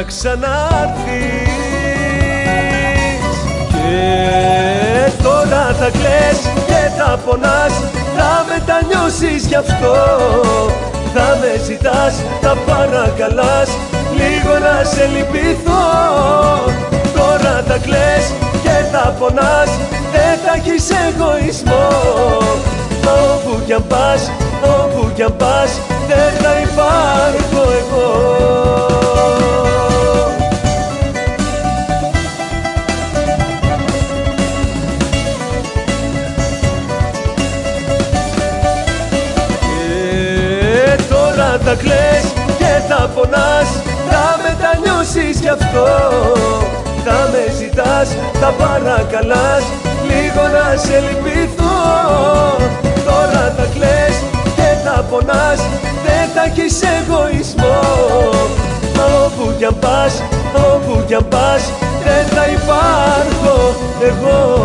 ξανάρθεις. Και τώρα τα κλαις και τα πονάς, θα μετανιώσεις γι' αυτό. Θα με ζητάς, θα παρακαλάς, λίγο να σε λυπηθώ. Τώρα τα κλαις και τα πονάς, δεν θα έχεις εγωισμό. Μα όπου κι αν πας, όπου κι αν πας, δεν θα υπάρχω εγώ. Τα κλαις και τα πονάς, θα μετανιώσεις γι' αυτό. Θα με ζητάς, θα παρακαλάς, λίγο να σε λυπηθώ. Τώρα τα κλαις και τα πονάς, δεν θα έχεις εγωισμό. Μα όπου κι αν πας, όπου κι αν πας, δεν θα υπάρχω εγώ.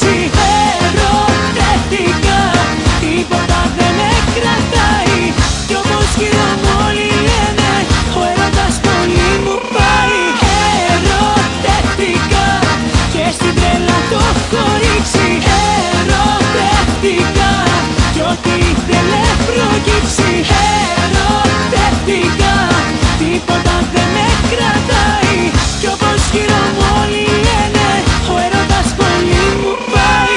ρίξει. Ερωτεύτηκα, τίποτα δεν με κρατάει. Κι όπως γύρω μου όλοι λένε, ο έρωτας πολύ μου πάει. Ερωτεύτηκα και στην τρέλα το έχω ρίξει. Ερωτεύτηκα κι ό,τι ήθελε προκύψει. Ερωτεύτηκα, τίποτα δεν με κρατάει. Κι όπως γύρω μου όλοι λένε, ο έρωτας πολύ μου πάει.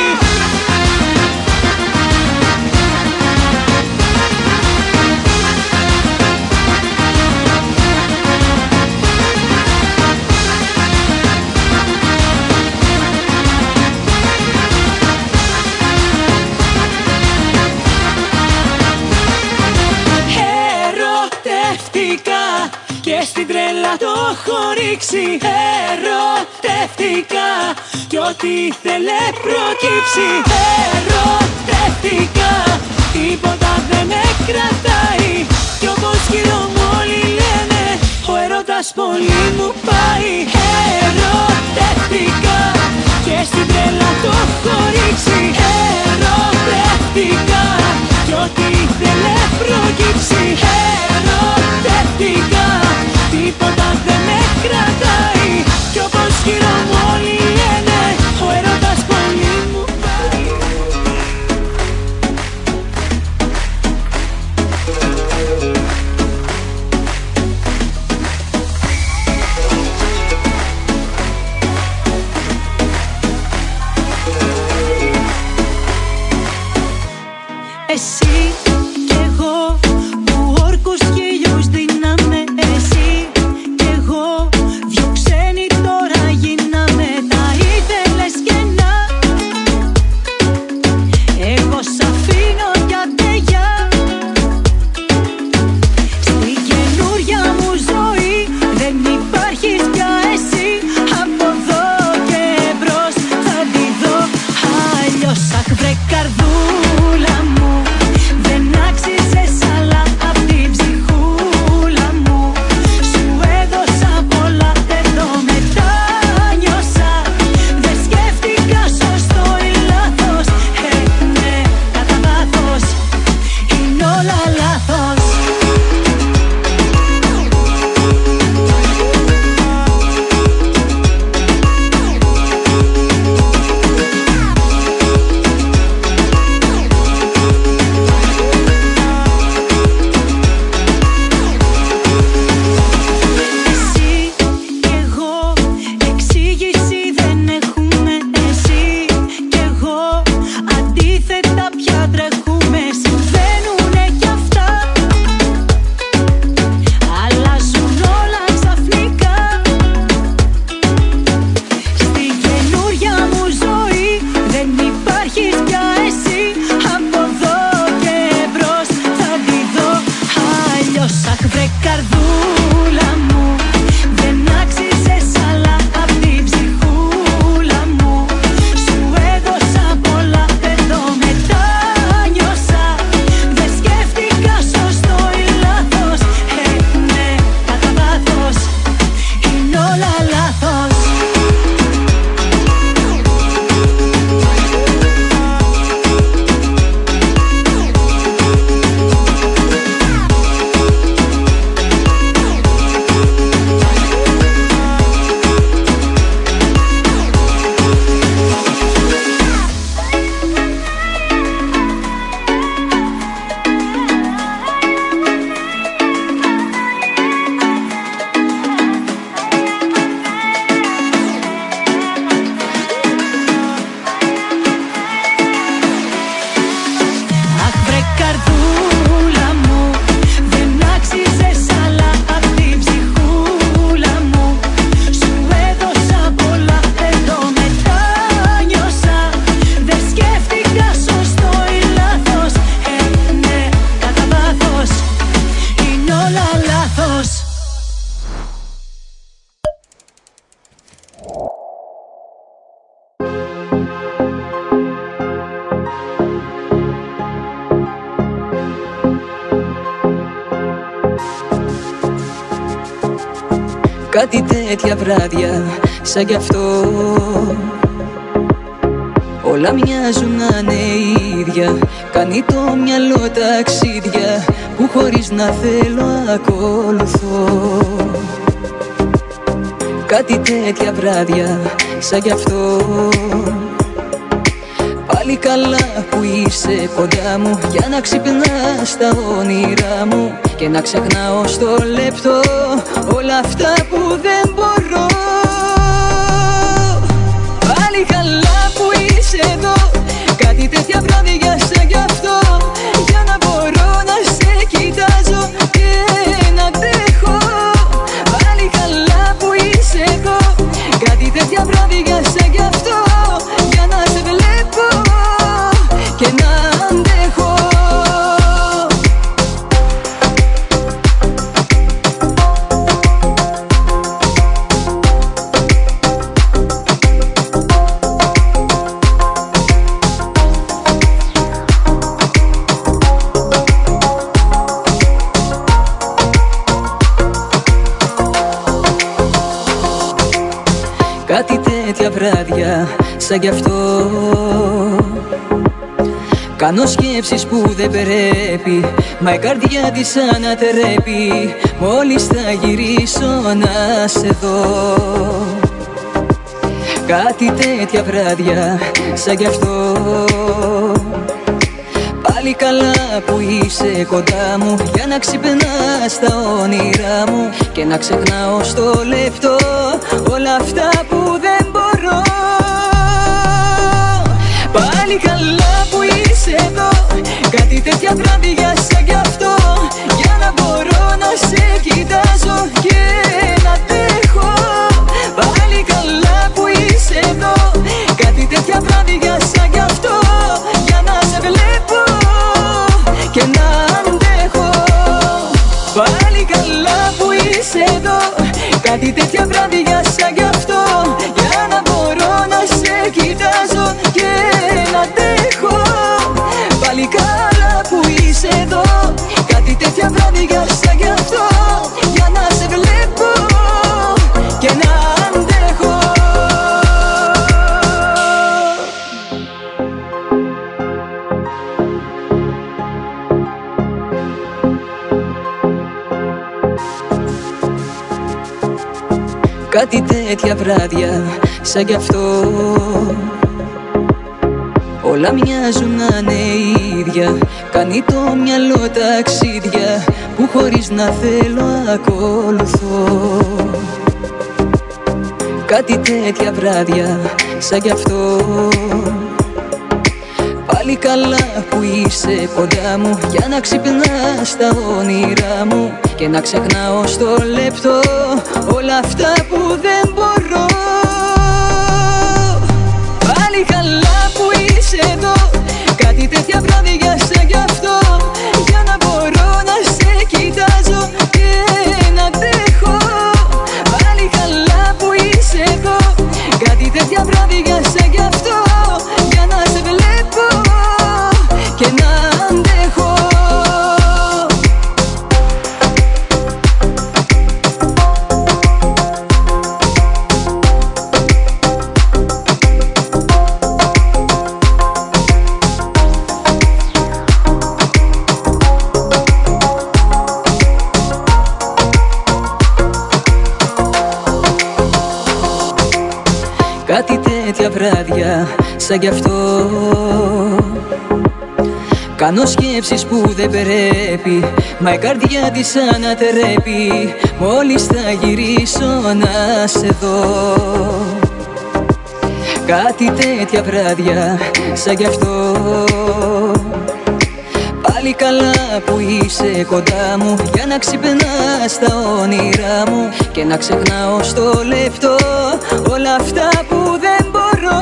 Ερωτεύτηκα και στην τρέλα το έχω ρίξει. Ερωτεύτηκα κι ό,τι ήθελε προκύψει. Ερωτεύτηκα, τίποτα δεν με κρατάει. Κι όπως γύρω μου όλοι λένε, ο έρωτας πολύ μου πάει. Ερωτεύτηκα και στην τρέλα το έχω ρίξει. Ερωτεύτηκα κι ό,τι ήθελε προκύψει. Ερωτεύτηκα, τίποτα δεν με κρατάει. Κι όπως γύρω μου όλοι λένε, ο έρωτας πολύ μου πάει. Εσύ κι εγώ που όρκους χίλιους δίναμε. Εσύ κι εγώ δυο ξένοι τώρα γίναμε. Τα ήθελες κενά, εγώ σ' αφήνω για τεγιά. Στη καινούρια μου ζωή δεν υπάρχεις πια εσύ. Από εδώ και μπρος θα τη δω αλλιώς. Αχ βρε καρδούλα μου, δεν άξιζες άλλα απ' την ψυχούλα μου. Σου έδωσα πολλά, εδώ μετάνιωσα. Δεν σκέφτηκα σωστό ή λάθος. Ε, ναι, κατά βάθος είναι όλα λάθος. Εσύ κι εγώ εξήγηση δεν έχουμε. Εσύ κι εγώ αντίθετα πια τρέχουμε. Συμβαίνουνε κι αυτά, αλλάζουν όλα ξαφνικά. Στη καινούρια μου ζωή δεν υπάρχεις πια εσύ. Από εδώ και μπρος θα τη δω αλλιώς. Αχ βρε καρδούλα μου, δεν άξιζες άλλα απ' την ψυχούλα μου. Σου έδωσα πολλά, εδώ μετάνιωσα. Δεν σκέφτηκα σωστό ή λάθος. Ε, ναι, κατά βάθος είναι όλα λάθος. Αχ βρε καρδούλα μου, δεν άξιζες άλλα απ' την ψυχούλα μου. Σου έδωσα πολλά, εδώ μετάνιωσα. Δεν σκέφτηκα σωστό ή λάθος. Ε, ναι, κατά βάθος είναι όλα λάθος. Κάτι τέτοια βράδια σαν κι αυτό Όλα μοιάζουν να είναι ίδια. Κάνει το μυαλό ταξίδια που χωρίς να θέλω ακολουθώ. Κάτι τέτοια βράδια σαν κι αυτό. Πάλι καλά που είσαι κοντά μου, για να ξυπνάς τα όνειρά μου και να ξεχνάω στο λεπτό όλα αυτά που δεν μπορώ. Πάλι καλά που είσαι εδώ, κάτι τέτοια βράδια σαν κι αυτό, για να μπορώ να σε κοιτάζω και να αντέχω. Πάλι καλά που είσαι εδώ, κάτι τέτοια βράδια σαν κι αυτό, για να σε βλέπω και να αντέχω. Κάτι τέτοια βράδια σαν κι αυτό. Κάνω σκέψεις που δεν πρέπει, μα η καρδιά της ανατρέπει. Μόλις θα γυρίσω να σε δω. Κάτι τέτοια βράδια σαν κι αυτό. Πάλι καλά που είσαι κοντά μου, για να ξυπνάς τα όνειρά μου και να ξεχνάω στο λεπτό όλα αυτά που δεν μπορώ. Πάλι καλά που είσαι εδώ, κάτι τέτοια βράδια σαν κι αυτό, για να μπορώ να σε κοιτάζω και να αντέχω. Πάλι καλά που είσαι εδώ, κάτι τέτοια βράδια σαν κι αυτό, για να σε βλέπω και να αντέχω. Πάλι καλά που είσαι εδώ, κάτι τέτοια βράδια σαν κι αυτό, για να μπορώ να σε κοιτάζω και να αντέχω. Πάλι καλά που είσαι εδώ, κάτι τέτοια βράδια σαν κι αυτό, για να σε βλέπω και να αντέχω. Κάτι τέτοια βράδια σαν κι αυτό. Όλα μοιάζουν να είναι ίδια. Κάνει το μυαλό ταξίδια που χωρίς να θέλω ακολουθώ. Κάτι τέτοια βράδια σαν κι αυτό. Πάλι καλά που είσαι κοντά μου, για να ξυπνάς τα όνειρά μου και να ξεχνάω στο λεπτό όλα αυτά που δεν μπορώ. Πάλι καλά που είσαι εδώ, κάτι τέτοια βράδια σαν κι αυτό, για να μπορώ να σε κοιτάζω και να αντέχω. Πάλι καλά που είσαι εδώ, κάτι τέτοια βράδια σαν κι αυτό, για να σε βλέπω και να αντέχω. Κάτι τέτοια βράδια σαν κι αυτό. Κάνω σκέψεις που δεν πρέπει, μα η καρδιά της ανατρέπει. Μόλις θα γυρίσω να σε δω. Κάτι τέτοια βράδια σαν κι αυτό. Πάλι καλά που είσαι κοντά μου, για να ξυπνάς τα όνειρά μου και να ξεχνάω στο λεπτό όλα αυτά που δεν μπορώ.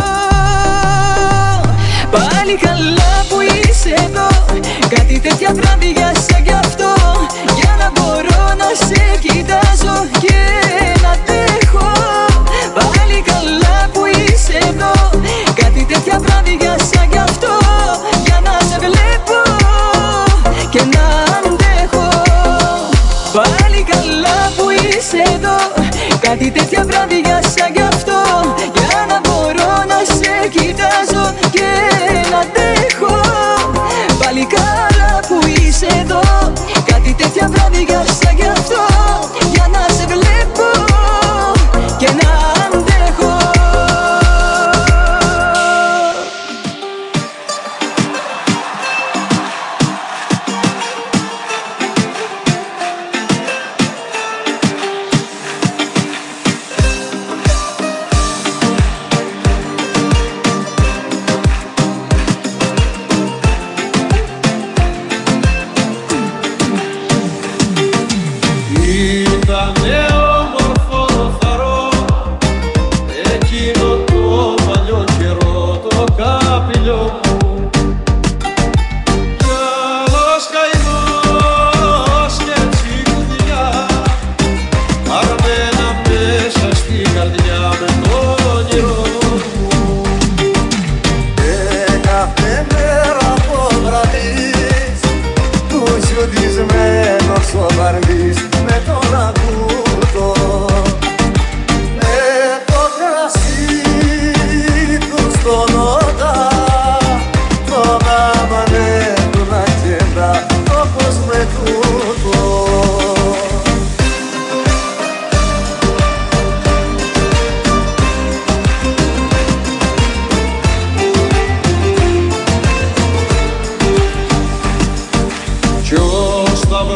Πάλι καλά που είσαι εδώ, κάτι τέτοια βράδια σαν κι αυτό, για να μπορώ να σε κοιτάζω και να αντέχω. Πάλι καλά που είσαι εδώ, κάτι τέτοια βράδια σαν κι αυτό, για να σε βλέπω και να αντέχω. Πάλι καλά που είσαι εδώ, κάτι τέτοια βράδια σαν κι αυτό, για να μπορώ να σε κοιτάζω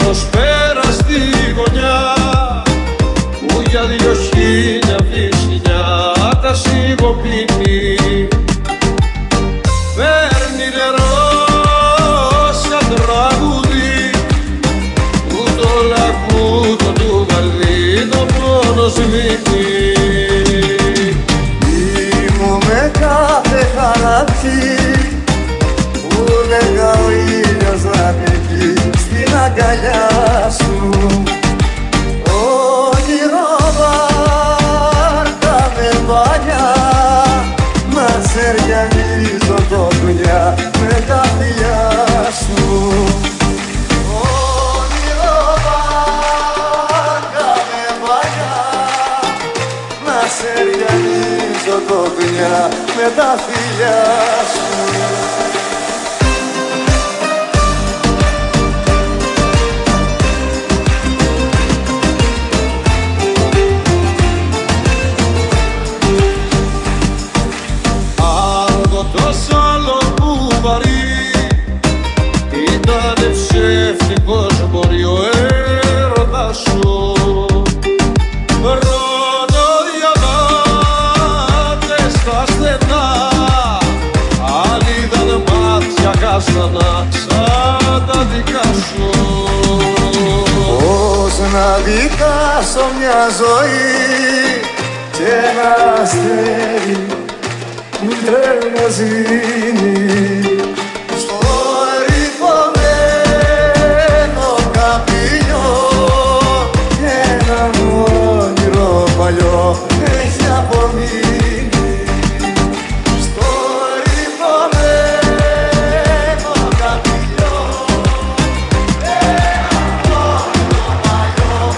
τρένος πέρα στη γωνιά που για δυο χίλια βυζιά τα σιγοπίνει. Παίρνει νερό σαν τραγούδι που το λακκούτο του βαρδί το πόνο σμίγει. Ήμου με κάθε χαράτσι που λέγα ο ήλιος να πηγεί στην αγκαλιά σου. Όνειρο βάρκα με μπάνια να σεριανίζω το κουνιά με τα φιλιά σου. Όνειρο βάρκα με μπάνια να σεριανίζω το κουνιά με τα φιλιά σου. Ήτανε ψεύτικος μπορεί ο έρωτας σου. Ρωτώ διαμάτες στα στενά, άλλοι ήταν μάτια κάστανα σαν τα δικά σου. Πώς να δικάσω μια ζωή και ένα αστέρι που δεν μας δίνει στο ρηχωμένο καπηλιό ένα όνειρο παλιό έχει απομείνει στο ρηχωμένο καπηλιό ένα όνειρο παλιό.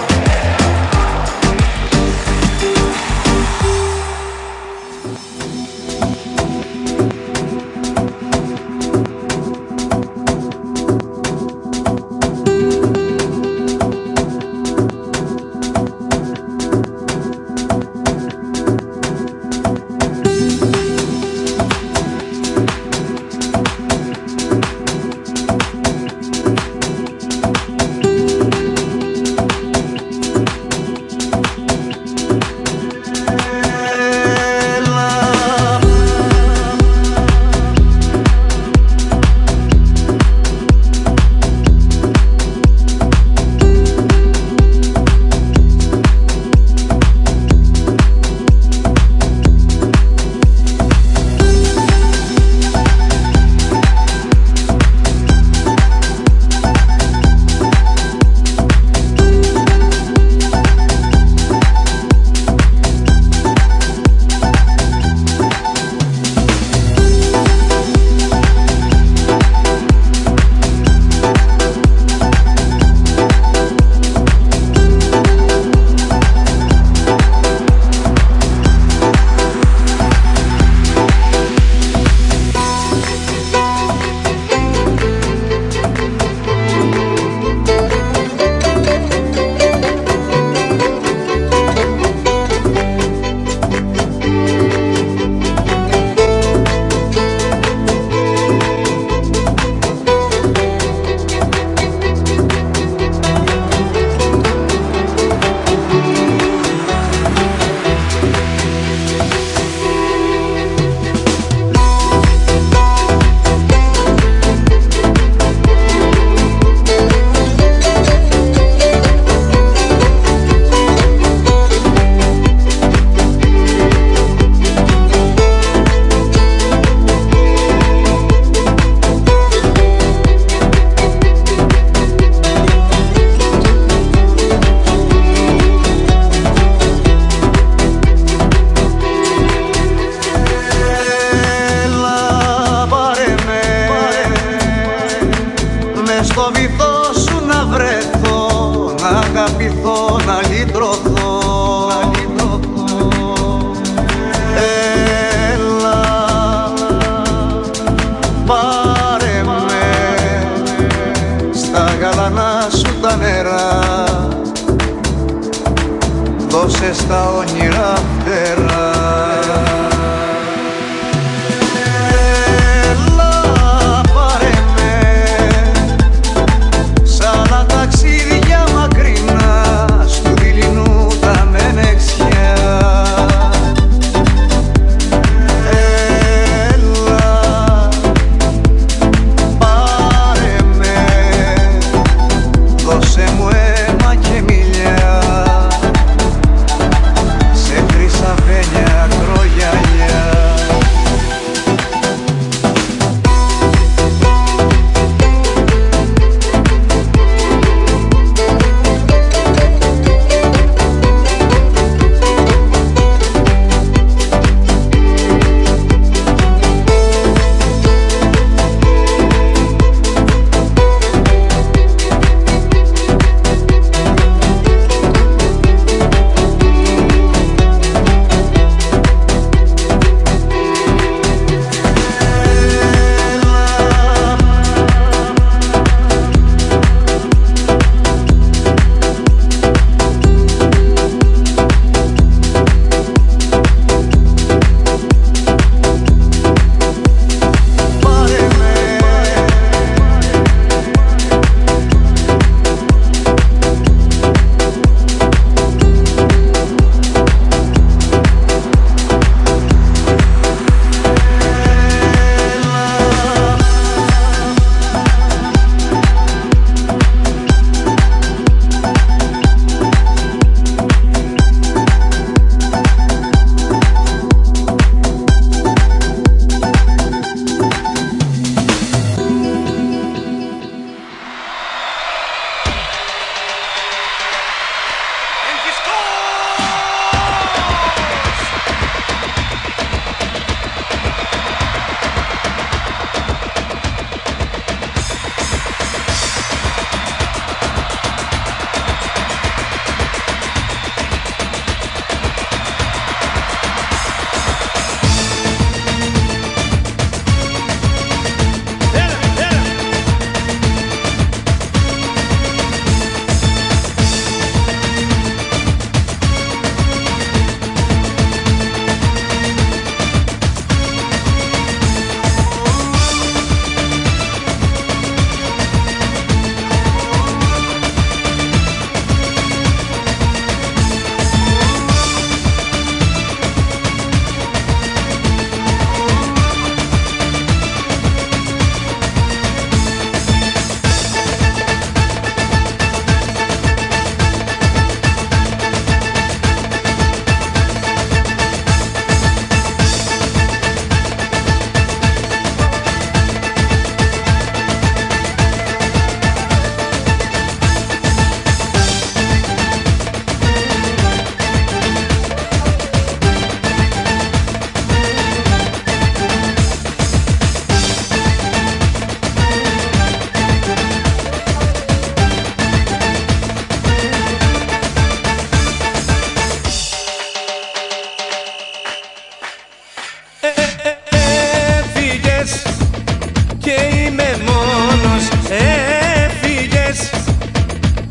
αγαπηθώ, να λυτρωθώ, να λυτρωθώ. Έλα, πάρε με στα γαλανά σου τα νερά, δώσε στα όνειρα φτερά. Έλα, πάρε με σ' άλλα ταξίδια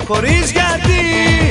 χωρίς γιατί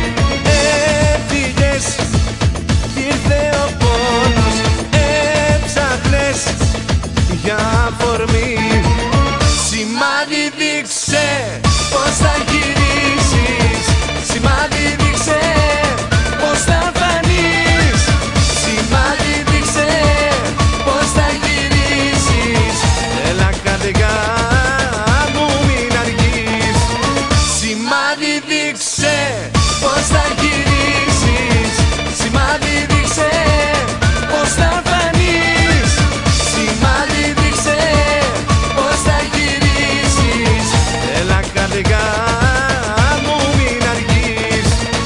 έφυγες κι ήρθε ο πόνος. Έψαχνες για αφορμή, σημάδι δείξε πως θα γυρίσεις. Σημάδι δείξε πως θα φανείς. Σημάδι δείξε πως θα γυρίσεις. Έλα καρδιά μου μην αργείς. Σημάδι δείξε πως θα γυρίσεις. Σημάδι δείξε πως θα φανείς. Σημάδι δείξε πως θα γυρίσεις. Έλα καρδιά μου μην αργείς.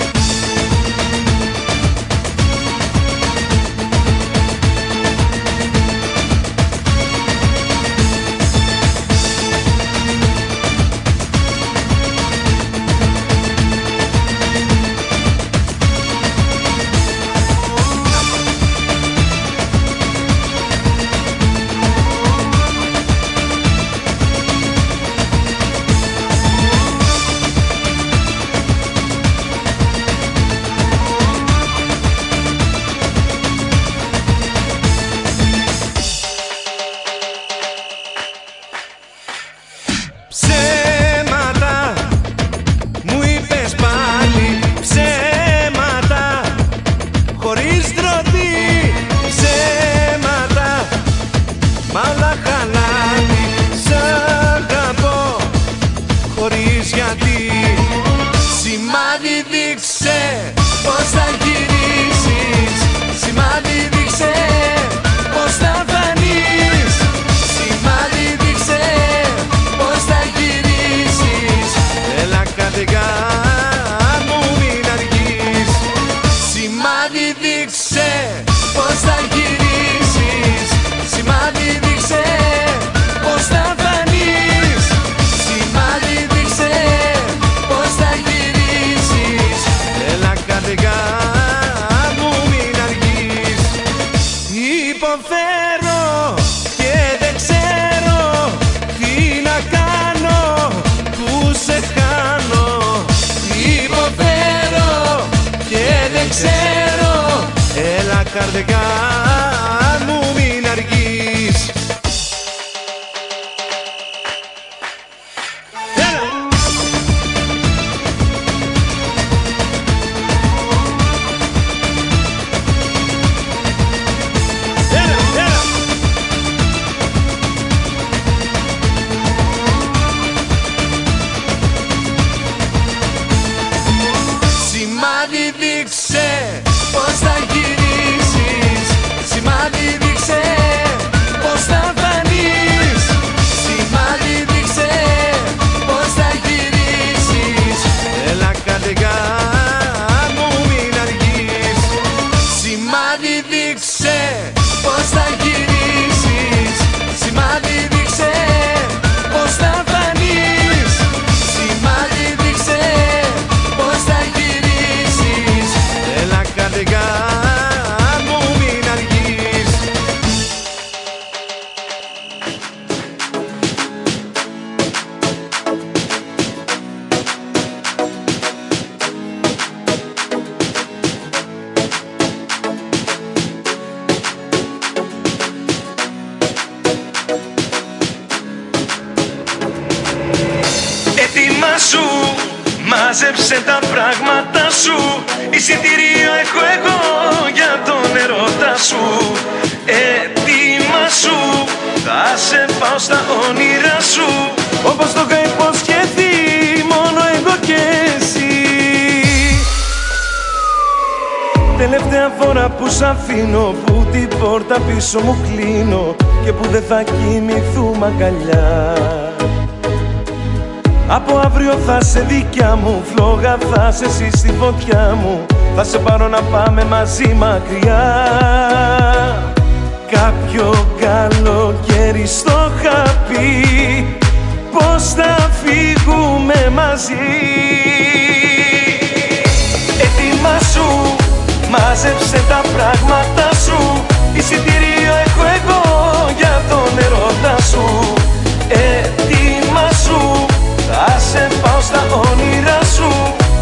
Ψέματα μου είπες πάλι, ψέματα χωρίς ντροπή. Ψέματα μ' όλα χαλάει. Σ' αγαπώ χωρίς γιατί. Σημάδι δείξε πως θα γυρίσεις. Σημάδι δείξε πως θα φανείς. Σημάδι δείξε πως θα γυρίσεις. Έλα καρδιά μου μην αργείς. Σημάδι δείξε πως θα γυρίσεις. Σημάδι δείξε πως θα φανείς. Σημάδι δείξε πως θα γυρίσεις. Έλα καρδιά μου μην αργείς. Υποφέρω και δεν ξέρω τι να κάνω που σε χάνω. Υποφέρω και δεν ξέρω. Έλα καρδιά μου μην αργείς. Έλα. Έλα, έλα. Σημάδι δείξε πως θα γυρίσεις. Σημάδι δείξε πως θα φανείς. Σημάδι δείξε πως θα γυρίσεις. Έλα καρδιά μου μην αργείς. Σημάδι δείξε πως θα γυρίσεις. Σημάδι δείξε πως θα φανείς. Σημάδι δείξε πως θα γυρίσεις. Έλα καρδιά μου μην αργείς. Ετοιμάσου, μάζεψε τα πράγματα σου. Εισιτήριο έχω εγώ για τον ερώτα σου. Ετοιμάσου, θα σε πάω στα όνειρά σου. Όπως το είχα υποσχεθεί, μόνο εγώ και εσύ. Τελευταία φορά που σ' αφήνω, που την πόρτα πίσω μου κλείνω και που δεν θα κοιμηθούμε αγκαλιά. Από αύριο θα σε δικιά μου, φλόγα θα σε εσύ στη φωτιά μου. Θα σε πάρω να πάμε μαζί μακριά. Κάποιο καλοκαίρι στο είχα πει πως θα φύγουμε μαζί. Ετοιμάσου, μάζεψε τα πράγματα σου. Εισιτήριο έχω εγώ για τον ερώτα σου. Ετοιμάσου, θα σε πάω στα όνειρά σου.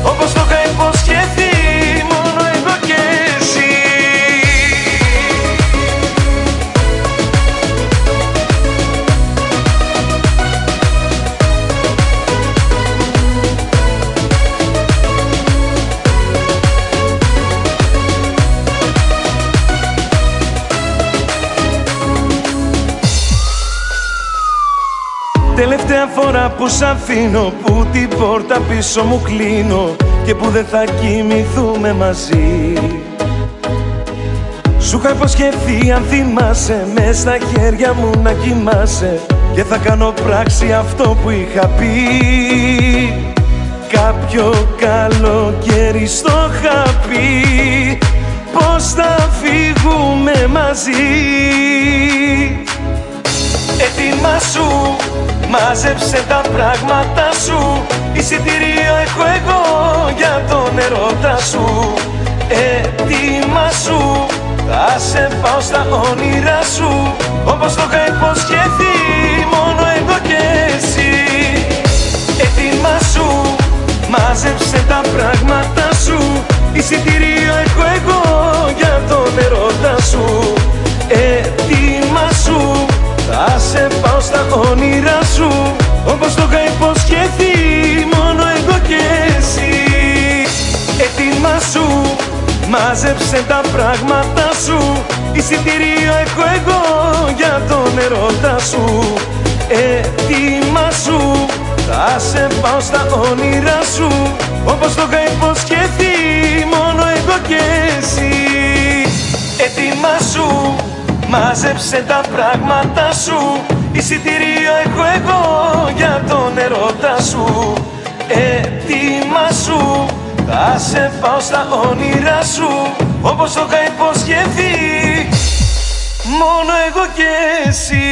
Τώρα που σ' αφήνω, που την πόρτα πίσω μου κλείνω και που δεν θα κοιμηθούμε μαζί. Σου είχα υποσχεθεί, αν θυμάσαι, μες στα χέρια μου να κοιμάσαι και θα κάνω πράξη αυτό που είχα πει. Κάποιο καλοκαίρι στο είχα πει πως θα φύγουμε μαζί. Έτοιμα σου, μάζεψε τα πράγματα σου, εισιτήριο έχω εγώ για τον ερώτα σου. Έτοιμα σου, θα σε πάω στα όνειρά σου, όπως το είχα υποσχεθεί, μόνο εγώ και εσύ. Έτοιμα σου, μάζεψε τα πράγματα σου, εισιτήριο έχω εγώ για τον ερώτα σου. Έτοιμα σου, θα σε πάω στα όνειρά σου, όπως το είχα υποσχεθεί, μόνο εγώ και εσύ. Έτοιμα σου, μάζεψε τα πράγματα σου, εισιτήριο έχω εγώ για τον ερώτα σου. Έτοιμα σου, θα σε πάω στα όνειρά σου, όπως το είχα υποσχεθεί, μόνο εγώ και εσύ. Έτοιμα σου, μάζεψε τα πράγματα σου, εισιτήριο έχω εγώ για τον ερώτα σου. Έτοιμα σου, θα σε πάω στα όνειρά σου, όπως το είχα υποσχεθεί, μόνο εγώ και εσύ.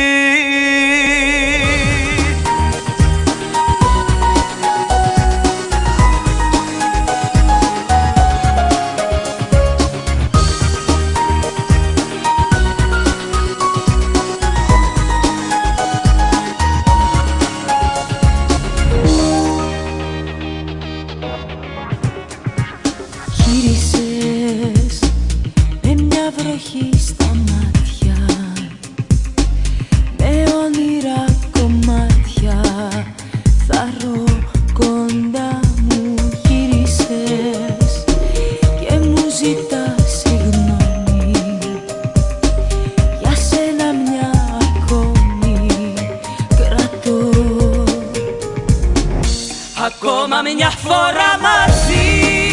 Ακόμα μια φορά μαζί,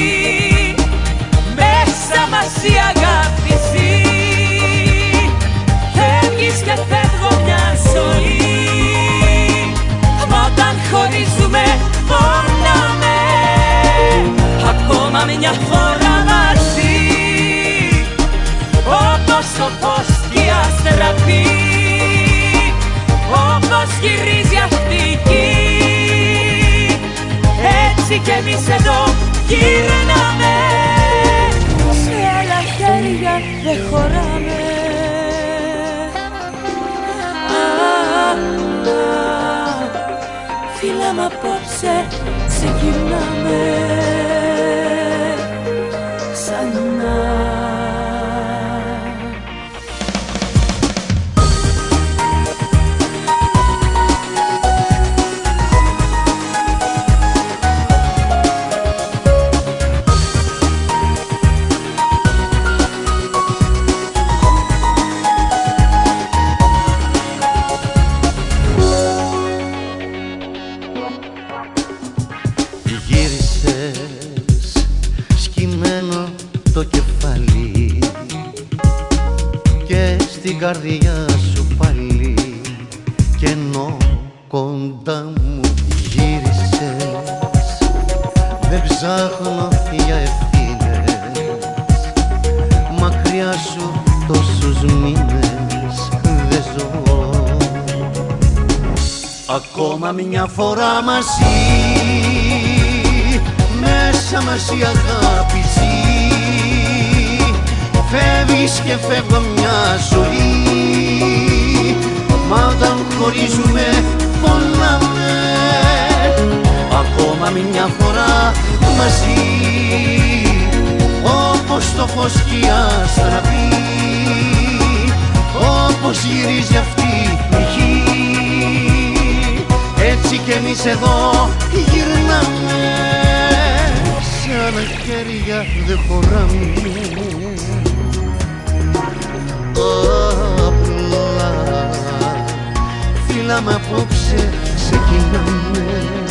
μέσα μας η αγάπη ζει. Φεύγεις και φεύγω μια ζωή, μα όταν χωρίζουμε πονάμε. Ακόμα μια φορά μαζί, όπως το φως και η αστραπή, όπως γυρίζει αυτή η γη, έτσι κι εμείς εδώ γυρνάμε. Σε άλλα χέρια δεν χωράμε. Φίλα μ' απόψε ξεκινάμε ξανά. Το κεφάλι και στην καρδιά σου πάλι, και ενώ κοντά μου γύρισες, δεν ψάχνω για ευθύνες, μακριά σου τόσους μήνες δεν ζω. Ακόμα μια φορά μαζί, μέσα μας η αγάπη ζει. Φεύγεις και φεύγω μια ζωή, μα όταν χωρίζουμε πονάμε. Ακόμα μια φορά μαζί, όπως το φως και η αστραπή, όπως γυρίζει αυτή η γη, έτσι κι εμείς εδώ γυρνάμε. Σε άλλα χέρια δεν χωράμε. Απλά φύλαμε απόψε σε γίνανε